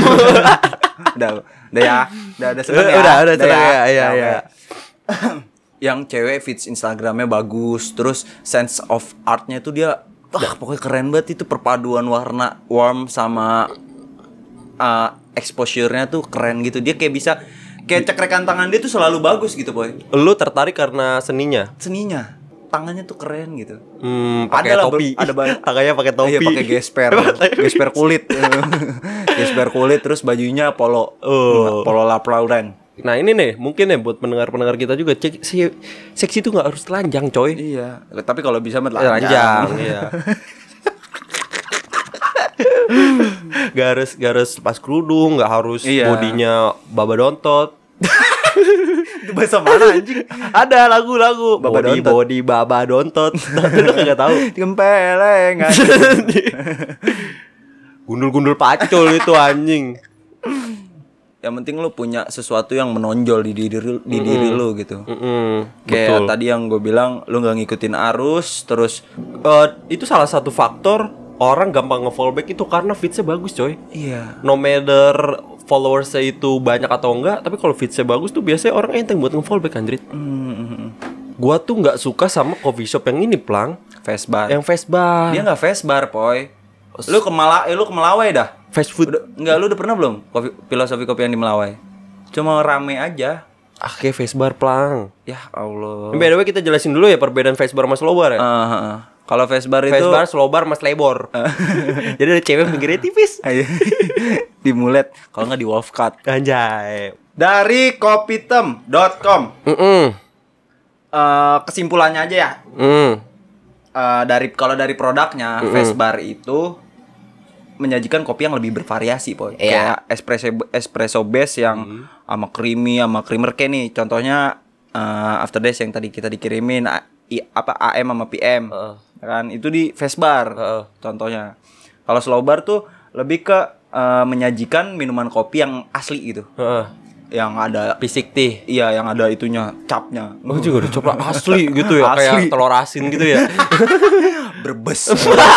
udah ya. Udah seneng ya. Udah seneng ya. Iya. Yang cewek feeds Instagramnya bagus, terus sense of artnya itu dia pokoknya keren banget, itu perpaduan warna warm sama exposure-nya tuh keren gitu. Dia kayak bisa kayak cekrekan tangan dia tuh selalu bagus gitu, Boy. Lu tertarik karena seninya? Seninya, tangannya tuh keren gitu. Pakai Ada lah, topi. ada banyak. Tangannya pakai topi. Iya, pakai gesper kulit. Gesper kulit, terus bajunya polo. Polo Ralph Lauren. Nah ini nih mungkin ya buat pendengar-pendengar kita juga, seksi itu nggak harus telanjang coy. Iya. Tapi kalau bisa mah telanjang. Iya. Gak harus pas kerudung, nggak harus bodinya baba dontot. Itu bahasa mana anjing? Ada lagu Baba Dontot. body baba dontot. Tapi lu kagak tahu. Gempeleng. Gundul-gundul pacul itu anjing. Yang penting lu punya sesuatu yang menonjol di diri lu gitu. Betul. Kayak tadi yang gue bilang, lu nggak ngikutin arus, terus itu salah satu faktor orang gampang nge-fallback itu karena feedsnya bagus coy. iya. No matter followersnya itu banyak atau enggak, tapi kalau feedsnya bagus tuh biasanya orang enteng buat nge-fallback anjrit. Gua tuh nggak suka sama coffee shop yang ini Plang, Fast bar. yang fast bar. Dia nggak fast bar, Poy. Lu ke Melawai dah. Fast food. Lu udah pernah belum filosofi kopi yang di Melawai? Cuma rame aja. Kayak fast bar Plang. Ya Allah. By the way kita jelasin dulu ya perbedaan fast bar sama slow bar ya. Kalau fast bar itu Fast bar, slow bar, mas lebor. Jadi ada cewek pinggirnya tipis. di mulet, kalau nggak di wolf cut. Anjay. Dari kopitem.com. Kesimpulannya aja ya. Dari produknya, fast bar itu menyajikan kopi yang lebih bervariasi, Poy. Iya. Kayak espresso base yang sama creamy, sama creamer kayak nih. Contohnya After Days yang tadi kita dikirimin AM sama PM. Kan itu di fast bar. Contohnya. Kalau slow bar tuh lebih ke menyajikan minuman kopi yang asli gitu. Yang ada Pisik tea. iya, yang ada itunya, capnya. Oh juga udah coba asli gitu ya. Asli. Kayak telur asin gitu ya. Berbes.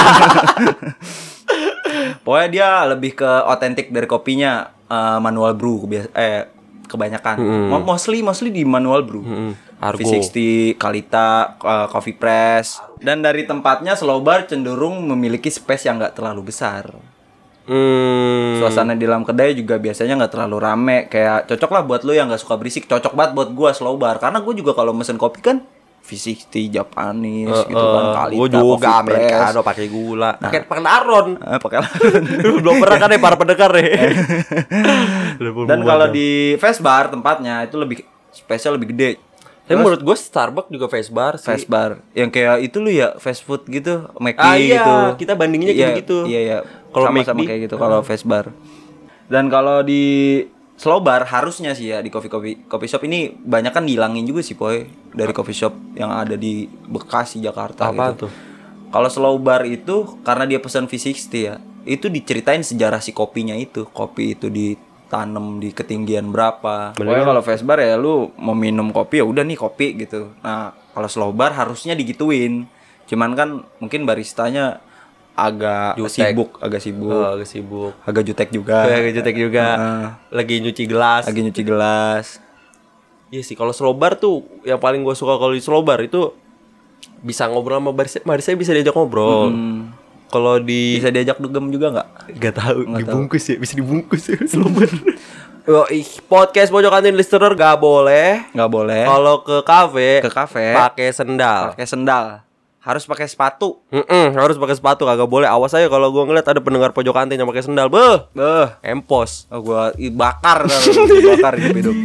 Pokoknya dia lebih ke otentik dari kopinya, manual brew kebanyakan. Mostly di manual brew. Argo. V60, Kalita, Coffee Press. Dan dari tempatnya slow bar cenderung memiliki space yang nggak terlalu besar. Suasana di dalam kedai juga biasanya nggak terlalu rame. Kayak cocok lah buat lo yang nggak suka berisik. Cocok banget buat gua slow bar. Karena gue juga kalau mesen kopi kan V60, Japanese gitu kan, Kalita, Gue juga Coffee Press. americano pakai gula. Pakai laron. Pakai laron. Belum pernah kan ya para pendengar ya. Dan kalau di fast bar tempatnya itu lebih spesial, lebih gede. Tapi menurut gue Starbucks juga fast bar sih. Fast bar yang kayak itu lu ya, fast food gitu, McD Iya, gitu. kita bandinginnya kayak gitu. Iya. Kalau sama McD, kayak gitu kalau fast bar. Dan kalau di slow bar harusnya sih ya, di coffee shop ini banyak kan dihilangin juga sih, Poy, dari coffee shop yang ada di Bekasi, Jakarta. Apa gitu. tuh? Kalau slow bar itu karena dia pesan V60 ya, itu diceritain sejarah si kopinya itu. Kopi itu ditanam di ketinggian berapa. Pokoknya kalau fast bar ya lu mau minum kopi ya udah nih kopi gitu. Nah, kalau slow bar harusnya digituin. Cuman kan mungkin baristanya agak sibuk. Agak sibuk. Agak jutek juga. Agak jutek juga. Lagi nyuci gelas. Iya sih, kalau slow bar tuh yang paling gue suka kalau di slow bar itu bisa ngobrol sama barista bisa diajak ngobrol. Kalau Bisa diajak dugem juga nggak? Gak tahu, dibungkus ya, bisa dibungkus ya slow bar. Podcast Pojok Kantin listener gak boleh. Nggak boleh. Kalau ke kafe pakai sendal. Pakai sendal. Harus pakai sepatu. Harus pakai sepatu, kagak boleh. Awas aja kalau gua ngeliat ada pendengar Pojok Kantin yang pakai sendal. Empos. Gua bakar dibakar hidup.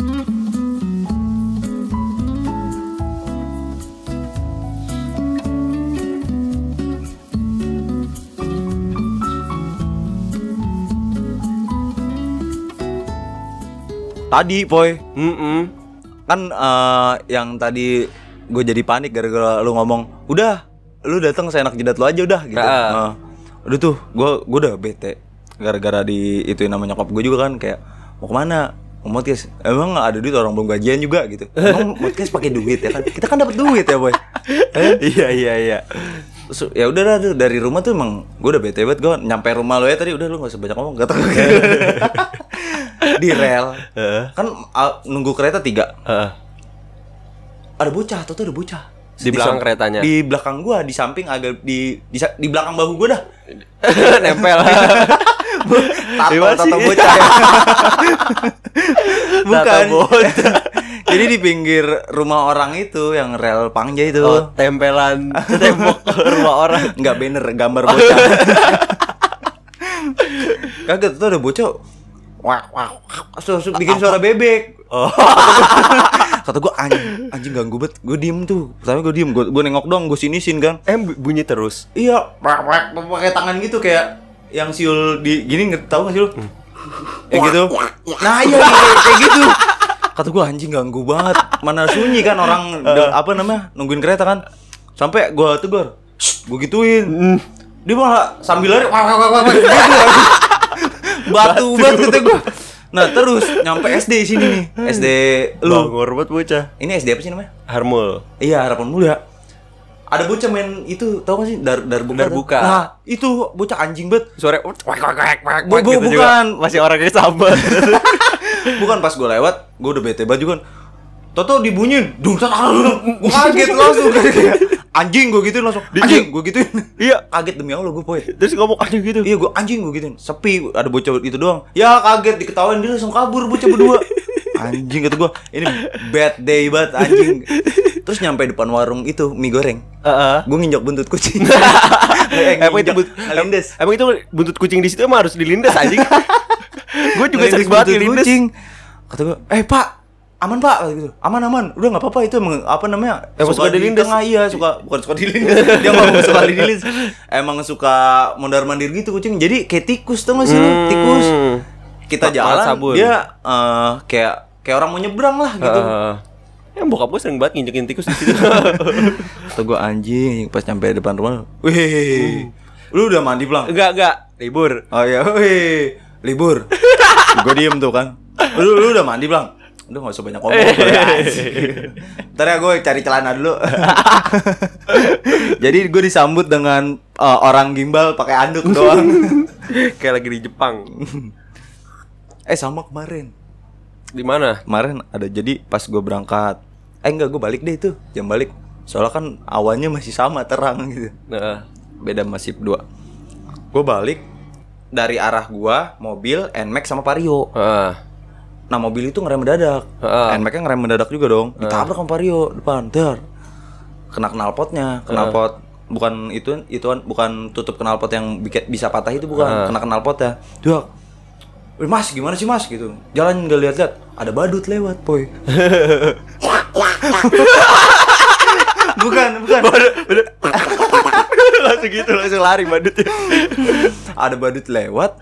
Tadi, Poy. Kan yang tadi gue jadi panik gara-gara lu ngomong udah lu datang seenak jidat lu aja udah gitu. Udah tuh gua udah bete gara-gara di itu namanya nyokap gue juga kan kayak mau kemana, mau podcast, emang ada duit, orang belum gajian juga gitu. Emang podcast pakai duit ya kan, kita kan dapat duit ya boy. Iya. Terus, ya udah lah tuh, dari rumah tuh emang gue udah bete banget. Gue nyampe rumah lo ya tadi, udah lu gak usah banyak ngomong, kata gue. Di rel kan nunggu kereta 3. Ada bocah, tuh ada bocah di belakang keretanya. Di belakang gua, di samping agak di belakang bahu gua dah. Nempel. Tato bocah ya. Bukan. Jadi di pinggir rumah orang itu yang rel Pangja itu. Oh, tempelan tembok rumah orang. Enggak banner, gambar bocah. Kagak tuh ada bocah. Wah, bikin suara bebek. Oh. Kata gue anjing ganggu banget. Gue diem tuh. Pertama gue diem, gue nengok doang, gue sinisin kan. Bunyi terus. Iya, pakai tangan gitu kayak yang siul di gini, tahu nggak sih lu? Kayak gitu. Nah iya kayak gitu. Kata gue anjing ganggu banget. Mana sunyi kan orang nungguin kereta kan. Sampai gue tegur, gue gituin. Dia malah sambil lari, gitu. Batu banget kata gue. Nah terus nyampe SD sini nih, SD lu. Bangor banget bocah. Ini SD apa sih namanya? Harmul. Iya, Harapan Mulia. Ada bocah main itu, tau gak sih? Darbuka. Nah itu bocah anjing banget. Suara gitu bukan juga. Masih orangnya sama. Bukan, pas gue lewat, gue udah bete banget juga. Toto dibunyiin, gue kaget langsung kayak anjing, gue gituin langsung. Anjing, gue gituin. Iya, kaget demi Allah gue poin. Terus ngomong anjing gitu. Iya, gue anjing, gue gituin. Sepi, ada bocah itu doang. Ya kaget, diketawain, dia langsung kabur bocah berdua. Anjing kata gue, ini bad day banget anjing. Terus nyampe depan warung itu mie goreng. Gue nginjak buntut kucing. Emang itu buntut kucing di situ emang harus dilindas anjing. Gue juga sering banget dilindas. Kata gue, Pak, aman Pak gitu. Aman. Udah enggak apa-apa, itu emang apa namanya? Suka dilindas. Iya, bukan suka dilindas. Dia enggak suka dilindas. Emang suka mondar-mandir gitu kucing. Jadi kayak tikus tuh enggak sih lu? Tikus. Kita jalan, dia kayak orang mau nyebrang lah gitu. Yang bokap gue sering banget nginjekin tikus di situ. Kata gue anjing, pas nyampe depan rumah. Wih. Lu udah mandi belum? Enggak, libur. Oh iya, wih. Libur. Gue diem tuh kan. Lu udah mandi belum? Udah gak usah banyak ngomong. Ntar ya gue cari celana dulu. Jadi gue disambut dengan orang gimbal pakai anduk doang. Kayak lagi di Jepang. Sama kemarin. Di mana? Kemarin ada, jadi pas gue berangkat. Enggak, gue balik deh itu. Jam balik. Soalnya kan awannya masih sama, terang gitu. Beda masih 2. Gue balik dari arah gua, mobil, NMAX sama Vario. Nah mobil itu ngerem mendadak, NMAX-nya ngerem mendadak juga dong. Ditabrak sama Vario depan, kena knalpotnya, knalpot bukan itu bukan tutup knalpot yang bisa patah itu, bukan, kena knalpotnya. Mas gimana sih mas gitu, jalan nggak lihat-lihat, ada badut lewat boy. bukan langsung gitu, langsung lari badutnya. Ada badut lewat.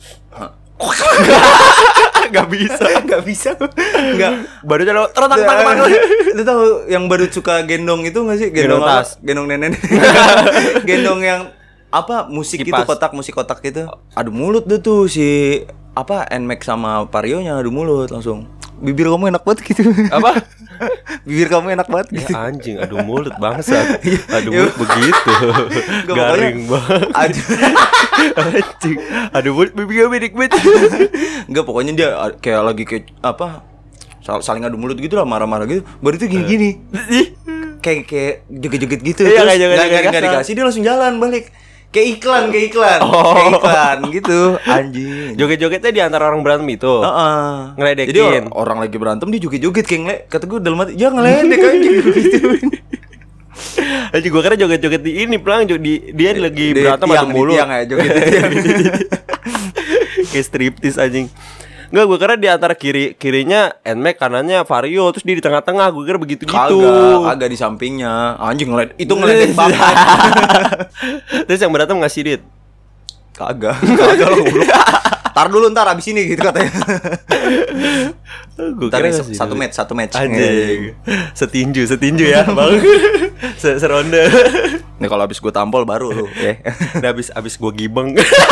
Gak bisa. Enggak. Badutnya lo terang. Lu tahu yang badut suka gendong itu enggak sih? Gendong tas. Gendong nenek. Gendong yang apa? Musik itu, musik kotak gitu. Adu mulut tuh si NMAX sama Vario-nya adu mulut langsung. Bibir kamu enak banget gitu. Apa? Bibir kamu enak banget gitu. Ya anjing, adu mulut bangsat. Adu mulut begitu. Garing banget. Anjing. Adu mulut bibirnya bedik-bedik. Enggak, pokoknya dia kayak lagi saling adu mulut gitu lah, marah-marah gitu. Baru itu gini-gini. Kayak joget-joget gitu. Terus enggak dikasih, dia langsung jalan balik. Kayak iklan kayak iklan gitu, anjing. Joget-jogetnya di antara orang berantem itu. Ngeledekin. Jadi orang lagi berantem dia joget-joget kayak kata gue dalam hati, jangan ngeledek anjing gitu. Anjing gue kira joget-joget di ini pelang, dia lagi berantem ada mulu. Tiang ya, joget di tiang. Kayak striptis anjing. Enggak, gue kira di antara kirinya NMAX, kanannya Vario, terus dia di tengah-tengah. Gue kira begitu gitu. Kagak di sampingnya. Anjing itu ngeledek banget. Terus yang berantem ngasih duit? Kagak lah goblok. Tar dulu ntar abis ini gitu katanya. Gue Ntar kira nih, satu match. Anjing. Setinju ya, Bang. Seronde. Nih kalau abis gue tampol baru lu ya. Nah, abis gue gibeng.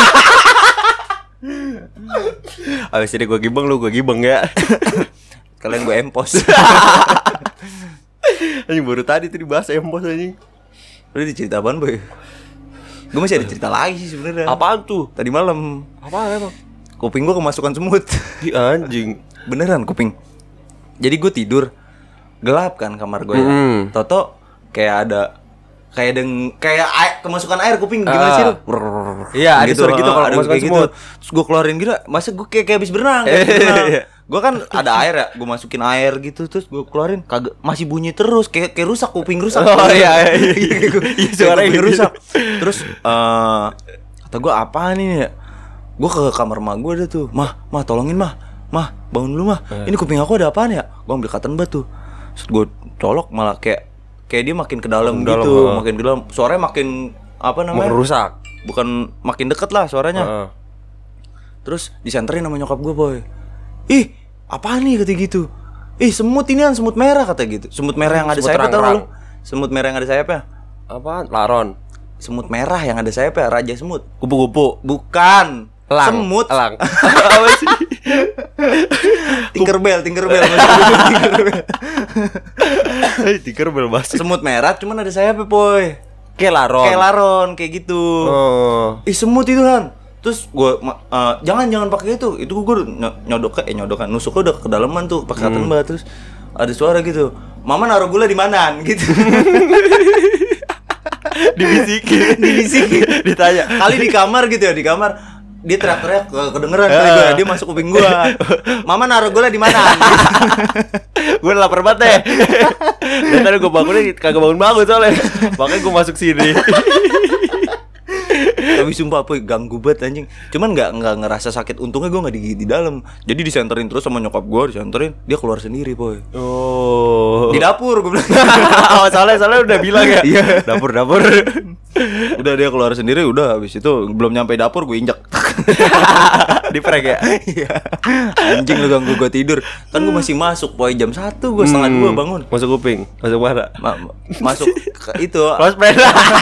Abis ini gue gibeng, lu gue gibeng ya. Kalian gue empos. Anjing baru tadi tuh dibahas empos anjing. Lu dicerita apaan boy? Gue masih ada cerita lagi sih sebenarnya. Apaan tuh? Tadi malam Apaan emang? kuping gue kemasukan semut. Di anjing. Beneran kuping. Jadi gue tidur gelap kan kamar gue ya. Toto kayak ada kemasukan air kuping gimana sih lu? Iya, ada suara gitu kalau kemasukan kayak semut. Terus gue keluarin gitu, masa gue kayak habis berenang. Gue kan ada air ya, gue masukin air gitu terus gue keluarin kagak masih bunyi terus kayak rusak kuping rusak. Oh iya. Suaranya kuping rusak. Terus kata gue apaan ini ya? Gue ke kamar mak gue ada tuh. Mah tolongin mah bangun dulu mah. Ini kuping aku ada apaan ya? Gue ambil cotton bud tuh. Terus gue colok malah kayak dia makin ke dalam gitu, makin ke dalam. Suaranya makin apa namanya? Makin rusak. Bukan makin deket lah suaranya. Terus disenterin sama nyokap gue boy. Ih, apaan nih kata gitu? Ih, semut inian, semut merah kata gitu. Semut merah yang ada sayapnya tau lu? Semut merah yang ada sayapnya. Apaan? Laron. Semut merah yang ada sayapnya, raja semut. Kupu-kupu. Bukan. Elang. Semut. Elang. Apa sih? Tinkerbell. Tinkerbell masih. Semut merah cuman ada sayapnya, boy. Kayak laron. Kayak gitu. Oh. Ih, semut itu kan. Terus gue jangan pakai itu gue nyodoknya nusuknya udah ke kedalaman tuh pakai cotton bud. Terus ada suara gitu, mama naruh gula di mana gitu. Dibisikin ditanya kali di kamar gitu ya, di kamar dia teriak-teriak kedengeran kali gue, dia masuk kuping gue, mama naruh gula di mana gitu. Gue lapar banget deh. Dan tadi gue bangunnya kagak bangun soalnya, makanya gue masuk sini. Tapi sumpah apa ganggu banget anjing. Cuman nggak ngerasa sakit. Untungnya gue nggak di dalam. Jadi disenterin terus sama nyokap gue, disenterin, dia keluar sendiri boy. Oh. Di dapur gue bilang. Soalnya udah bilang ya. Iya. Dapur. Udah dia keluar sendiri, udah habis itu belum nyampe dapur gue injak. Di prank ya. Iya. Anjing lu ganggu gue tidur. Kan gue masih masuk boy, jam 1 gue setengah 2 bangun. Masuk kuping, masuk mana? Masuk ke itu. Hosped.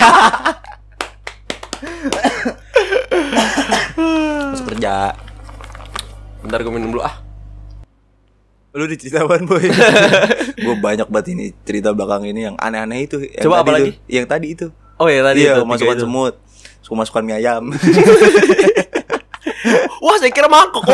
Masuk kerja. Bentar gue minum dulu Lu diceritain boy. Gue banyak banget ini cerita belakang ini yang aneh-aneh itu. Coba apa lagi? Yang tadi itu. Oh ya tadi iya, itu. Masukkan semut. Suka masukkan mie ayam. Wah, saya kira mangkok.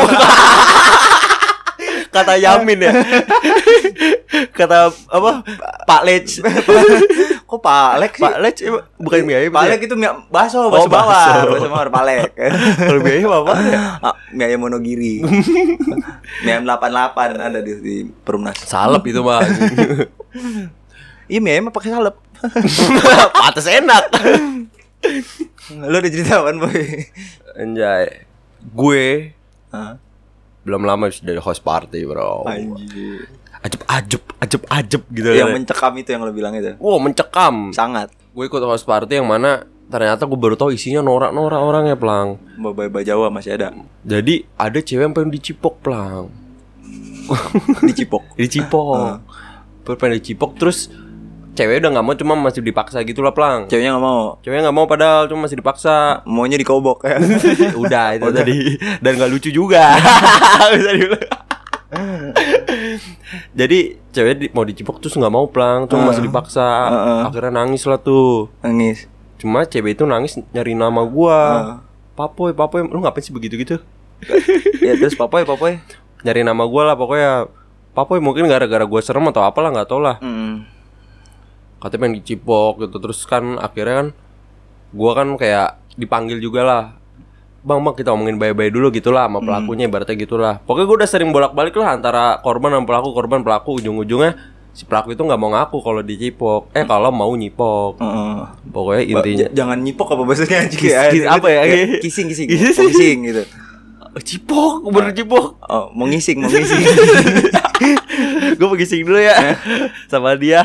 Kata Yamin ya. Kata apa? Pak Lec. Kok Pak Lec sih? Pak Lec bukan mie ayam. Pak Lec itu bakso bawah. Bakso mawar Pak Lec. Kalau mie ayam apa ya? Mie ayam Monogiri. Mie ayam 88 ada di Perumnas. Salep itu mah. Iya, mie ayam pakai salep. Pantes enak. Lu udah cerita apaan boy? Anjay. Gue belum lama sudah host party bro. Anjir. Ajep gitu. Yang mencekam itu yang lo bilang itu. Wow, mencekam. Sangat. Gue ikut host party yang mana ternyata gue baru tahu isinya norak-norak orangnya Plang. Babai Jawa masih ada. Jadi ada cewek yang pengen dicipok Plang. Dicipok. Pengen dicipok terus cewek udah nggak mau, cuma masih dipaksa gitu lah Plang. Ceweknya nggak mau Padahal cuma masih dipaksa. Maunya dikobok ya. Udah itu tadi. Dan nggak lucu juga. Jadi cewek mau dicipok terus nggak mau Plang, cuma masih dipaksa. Akhirnya nangis lah tuh. Cuma cewek itu nangis nyari nama gua. Papoy, lu ngapain sih begitu? Ya terus Papoy nyari nama gua lah pokoknya. Papoy mungkin gara-gara gua serem atau apalah, nggak tau lah. Katanya pengen dicipok gitu. Terus kan akhirnya kan gua kan kayak dipanggil juga lah. Bang kita omongin baik-baik dulu gitu lah sama pelakunya, ibaratnya gitu lah. Pokoknya gue udah sering bolak-balik lah antara korban sama pelaku. Ujung-ujungnya si pelaku itu gak mau ngaku kalau dicipok. Kalau mau nyipok. Pokoknya intinya jangan nyipok apa bahasanya apa ya? Kissing gitu. Cipok, bener cipok. Oh, mau ngising. Gue mau ngising dulu ya sama dia.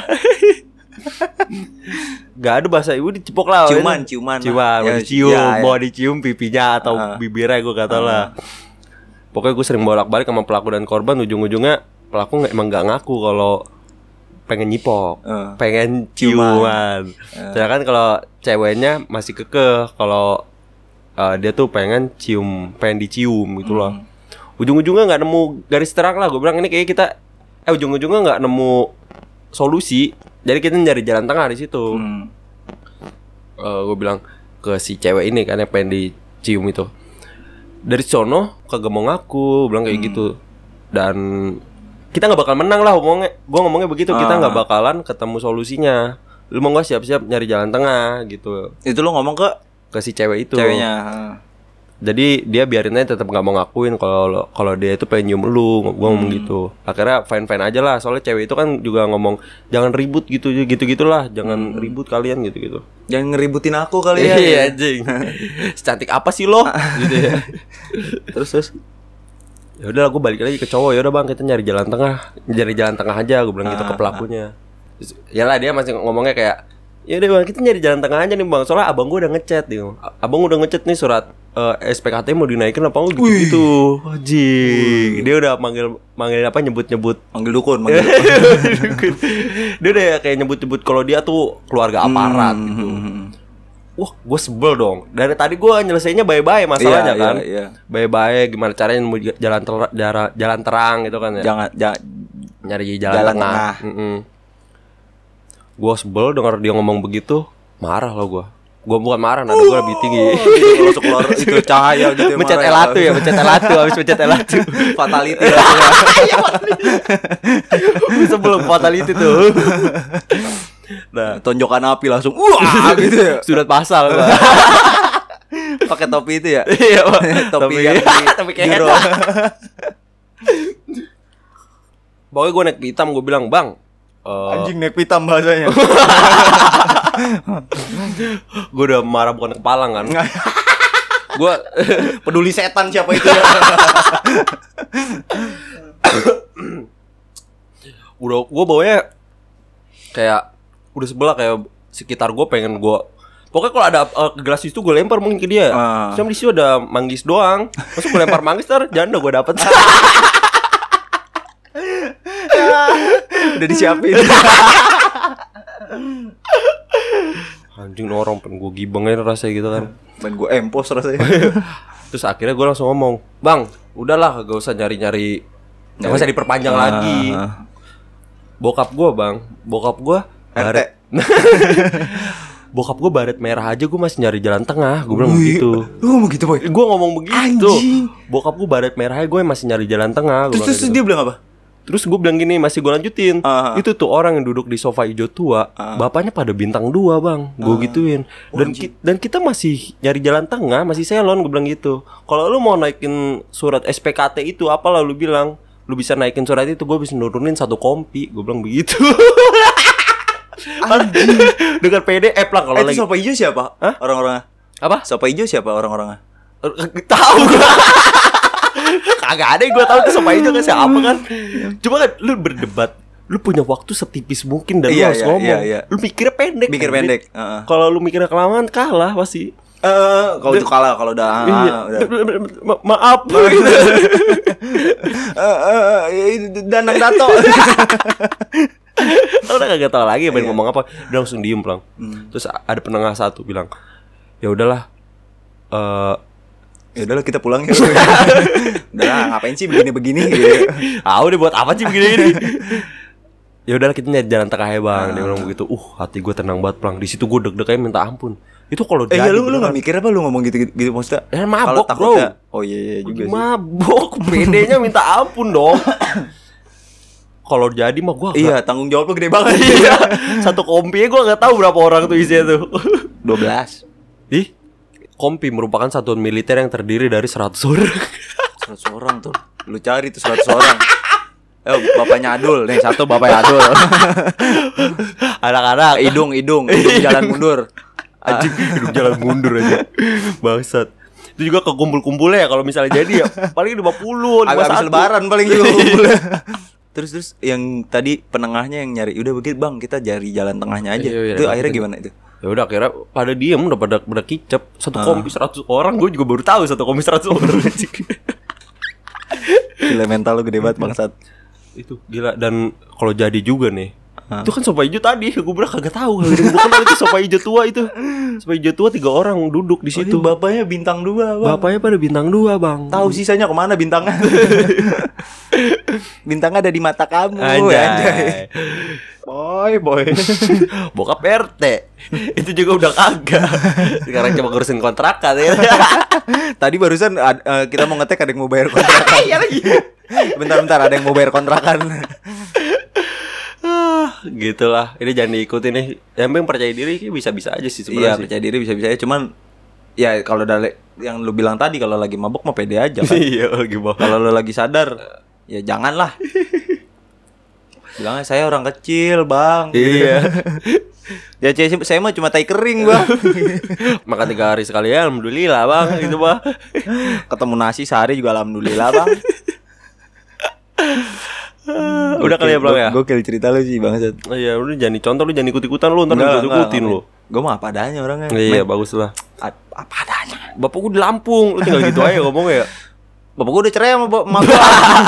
Gak ada bahasa ibu dicipok lah. Ciuman ya, mau dicium pipinya atau bibirnya gue kata lah. Pokoknya gue sering bolak-balik sama pelaku dan korban. Ujung-ujungnya pelaku emang gak ngaku kalau pengen nyipok, pengen ciuman. Sedangkan kalau ceweknya masih kekeh kalau dia tuh pengen dicium gitu loh. Ujung-ujungnya nggak nemu garis terang lah. Gue bilang ini kayak kita ujung-ujungnya nggak nemu solusi. Jadi kita nyari jalan tengah di situ. Gue bilang ke si cewek ini kan yang pengen dicium itu, dari sono kagak mau ngaku, bilang kayak gitu. Dan kita nggak bakal menang lah ngomongnya. Gue ngomongnya begitu, kita nggak bakalan ketemu solusinya. Lu mau nggak siap-siap nyari jalan tengah gitu. Itu lu ngomong ke si cewek itu. Ceweknya. Jadi dia biarin aja, tetap nggak mau ngakuin kalau dia itu pengen nyium lu. Gue ngomong gitu. Akhirnya fine aja lah. Soalnya cewek itu kan juga ngomong jangan ribut gitu-gitulah. Jangan ribut kalian gitu. Jangan ngeributin aku kalian. Iya anjing. Secantik apa sih lo? Gitu ya. Terus ya udah gue balik lagi ke cowok. Ya udah bang, kita nyari jalan tengah aja. Gue bilang gitu ke pelakunya. Yalah dia masih ngomongnya kayak ya udah bang, kita nyari jalan tengah aja nih bang. Soalnya abang gue udah ngechat nih. Abang udah ngechat nih surat SPKT mau dinaikin apa gitu. Anjing. Dia udah manggil apa nyebut-nyebut. Manggil dukun. Dia udah kayak nyebut-nyebut kalau dia tuh keluarga aparat gitu. Wah, gue sebel dong. Dari tadi gue nyelesainnya bye-bye masalahnya kan. Iya. Bye-bye gimana caranya mau jalan terang gitu kan ya. Jangan nyari jalan tengah. Gue sebel denger dia ngomong begitu, marah loh gue. Gue bukan marah, nada gue lebih tinggi. Gitu, kalau keluar itu cahaya gitu. Mencet L1 ya, habis mencet L1. Fatality lah. Iya, sebelum fatality tuh. Nah, tonjokan api langsung wah gitu ya. Surat pasal gua. Pakai topi itu ya? Iya, topi yang topi kayak pokoknya gue naik hitam, gue bilang, "Bang, anjing naik hitam bahasanya." Gue udah marah bukan kepalang kan. Gue peduli setan siapa itu ya. Udah gue bawanya kayak udah sebelah, kayak sekitar gue pengen gue pokoknya kalau ada gelas itu gue lempar mungkin ke dia. Cuma di situ ada manggis doang. Masuk gue lempar manggis janda gue dapet. Udah disiapin. Anjing orang pengen gue gibengin rasanya gitu kan. Pengen gue empos rasanya. Terus akhirnya gue langsung ngomong, "Bang, udahlah gak usah nyari-nyari, gak usah diperpanjang lagi." Bokap gue baret. Bokap gue baret merah aja gue masih nyari jalan tengah. Gue bilang begitu. Lu ngomong gitu boy? Gue ngomong begitu. Anjing. Bokap gue baret merah aja gue masih nyari jalan tengah. Terus dia bilang apa? Terus gue bilang gini, masih gue lanjutin. Itu tuh orang yang duduk di sofa hijau tua, bapaknya pada bintang 2 bang. Gue gituin. Dan kita masih nyari jalan tengah, masih selon. Gue bilang gitu. Kalau lu mau naikin surat SPKT itu, apalah lu bilang, lu bisa naikin surat itu, gue bisa nurunin 1 kompi. Gue bilang begitu. Anjing. Dengan PDF lah kalau lagi. Itu sofa hijau siapa? Orang-orangnya? Apa? Sofa hijau siapa orang-orangnya? Tahu gue. Kagak ada yang gue tahu tuh sofa hijau kan siapa kan. Cuma kan lu berdebat, lu punya waktu setipis mungkin dan lu harus ngomong. Lu mikirnya pendek. Kalau lu mikirnya kelamaan kalah pasti. Kalau itu kalah, kalau udah maaf. Danang Dato. Udah kagak tahu lagi pengen ngomong apa. Dia langsung diem pelang. Terus ada penengah satu bilang, "Ya udahlah, ya udahlah kita pulang ya." Udahlah ngapain sih begini-begini gitu. Udah buat apa sih begini-begini. Ya udahlah kita nyari jalan tengah ya bang. Dia bilang begitu. Hati gue tenang banget pelang. Di situ gue deg-degannya minta ampun. Itu kalau jadi lu nggak mikir apa lu ngomong gitu maksudnya? Ya mabok bro. Oh iya juga sih. Mabok. PD-nya minta ampun dong. Kalau jadi mah gue iya tanggung jawab lu gede banget. Iya. 1 kompi gue nggak tahu berapa orang tuh isinya tuh. 12. Ih, kompi merupakan satuan militer yang terdiri dari 100 orang. 100 orang tuh. Lu cari tuh 100 orang. Bapaknya Adul, nih satu bapaknya Adul. Anak-anak hidung jalan mundur. Anjing, hidung jalan mundur aja. Bangsat. Itu juga kekumpul-kumpulnya ya kalau misalnya jadi ya paling 50, 51. Habis lebaran paling juga kumpulnya. Terus yang tadi penengahnya yang nyari, udah begitu bang kita cari jalan tengahnya aja. Itu akhirnya gimana itu? Ya udah akhirnya pada diem udah pada kicep. 1 kompi 100 orang, gue juga baru tahu 1 kompi 100 orang. Gila mental lu gede banget bangsat. Itu gila. Dan kalau jadi juga nih, itu kan sopa hijau tadi. Gue bilang kagak tahu. Gue kenal itu sopa hijau tua itu. Sopa hijau tua 3 orang duduk di situ. Bapaknya bintang 2, Bang. Bapaknya pada bintang 2, Bang. Tahu sisanya kemana bintangnya? Bintangnya ada di mata kamu. Anjay. Boy. Bokap RT. Itu juga udah kagak. Sekarang cuma ngurusin kontrakan ya. Tadi barusan kita mau ngetek ada yang mau bayar kontrakan. Iya lagi. Bentar ada yang mau bayar kontrakan. Gitulah. Ini jangan diikutin nih. Yang penting percaya diri bisa-bisa aja sih Iya, sebenarnya. Sih. percaya diri bisa-bisa aja. Cuman ya kalau dari yang lu bilang tadi, kalau lagi mabuk mah pede aja kan. Iya, gimana? Kalau lu lagi sadar, ya janganlah. Bilangnya saya orang kecil, Bang. Iya. Ya saya mah cuma tai kering, Bang. Makan 3 hari sekali ya, alhamdulillah, Bang. Gitu, Bang. Ketemu nasi sehari juga alhamdulillah, Bang. Udah kali ya, Bang ya. Gokil cerita lu sih, Bang. Oh, iya, lu jangan dicontoh, lu jangan ikut-ikutan lu, ntar ikut-ikutin lu. Gue mah apa adanya orangnya. Iya, bagus lah. Apa adanya. Bapak gua di Lampung, lu tinggal gitu aja ngomongnya ya. Bapak gue udah cerai sama emak gue.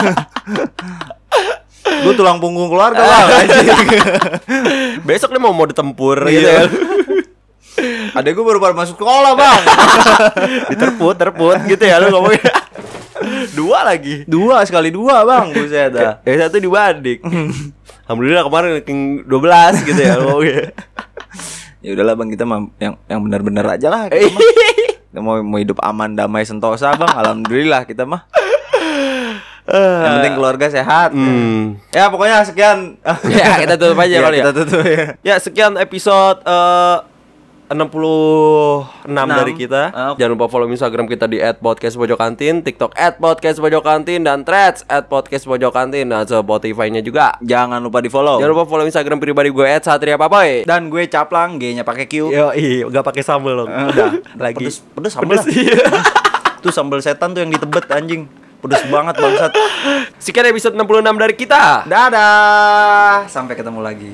Gue tulang punggung keluarga, Bang. Besok nih mau ditempur gitu ya. Adek gue baru masuk sekolah, Bang. Terput gitu ya lu ngomongnya. 2 lagi. 2 sekali 2, Bang. Buset dah. Yang 1 dibanding. Alhamdulillah kemarin ranking 12 gitu ya lu ngomongnya. Ya udahlah, Bang, kita mah yang benar-benar aja lah. Kita mah. Kita mau hidup aman, damai, sentosa, Bang. Alhamdulillah kita mah. Yang penting keluarga sehat. Ya pokoknya sekian. Ya kita tutup aja Ya, kali ya. kita tutup ya. Ya sekian episode 66 dari kita. Jangan lupa follow Instagram kita di @podcastpojokantin, TikTok @podcastpojokantin, dan Threads @podcastpojokantin, dan Spotify-nya juga. Jangan lupa di follow. Jangan lupa follow Instagram pribadi gue @satriapapoy. Dan gue Caplang, G-nya pakai Q. Yo, enggak pakai sambal dong. Udah, lagi. Pedes sambal. Tuh sambal setan tuh yang ditebet anjing. Pedes banget bangsat. Sekian episode 66 dari kita. Dadah. Sampai ketemu lagi.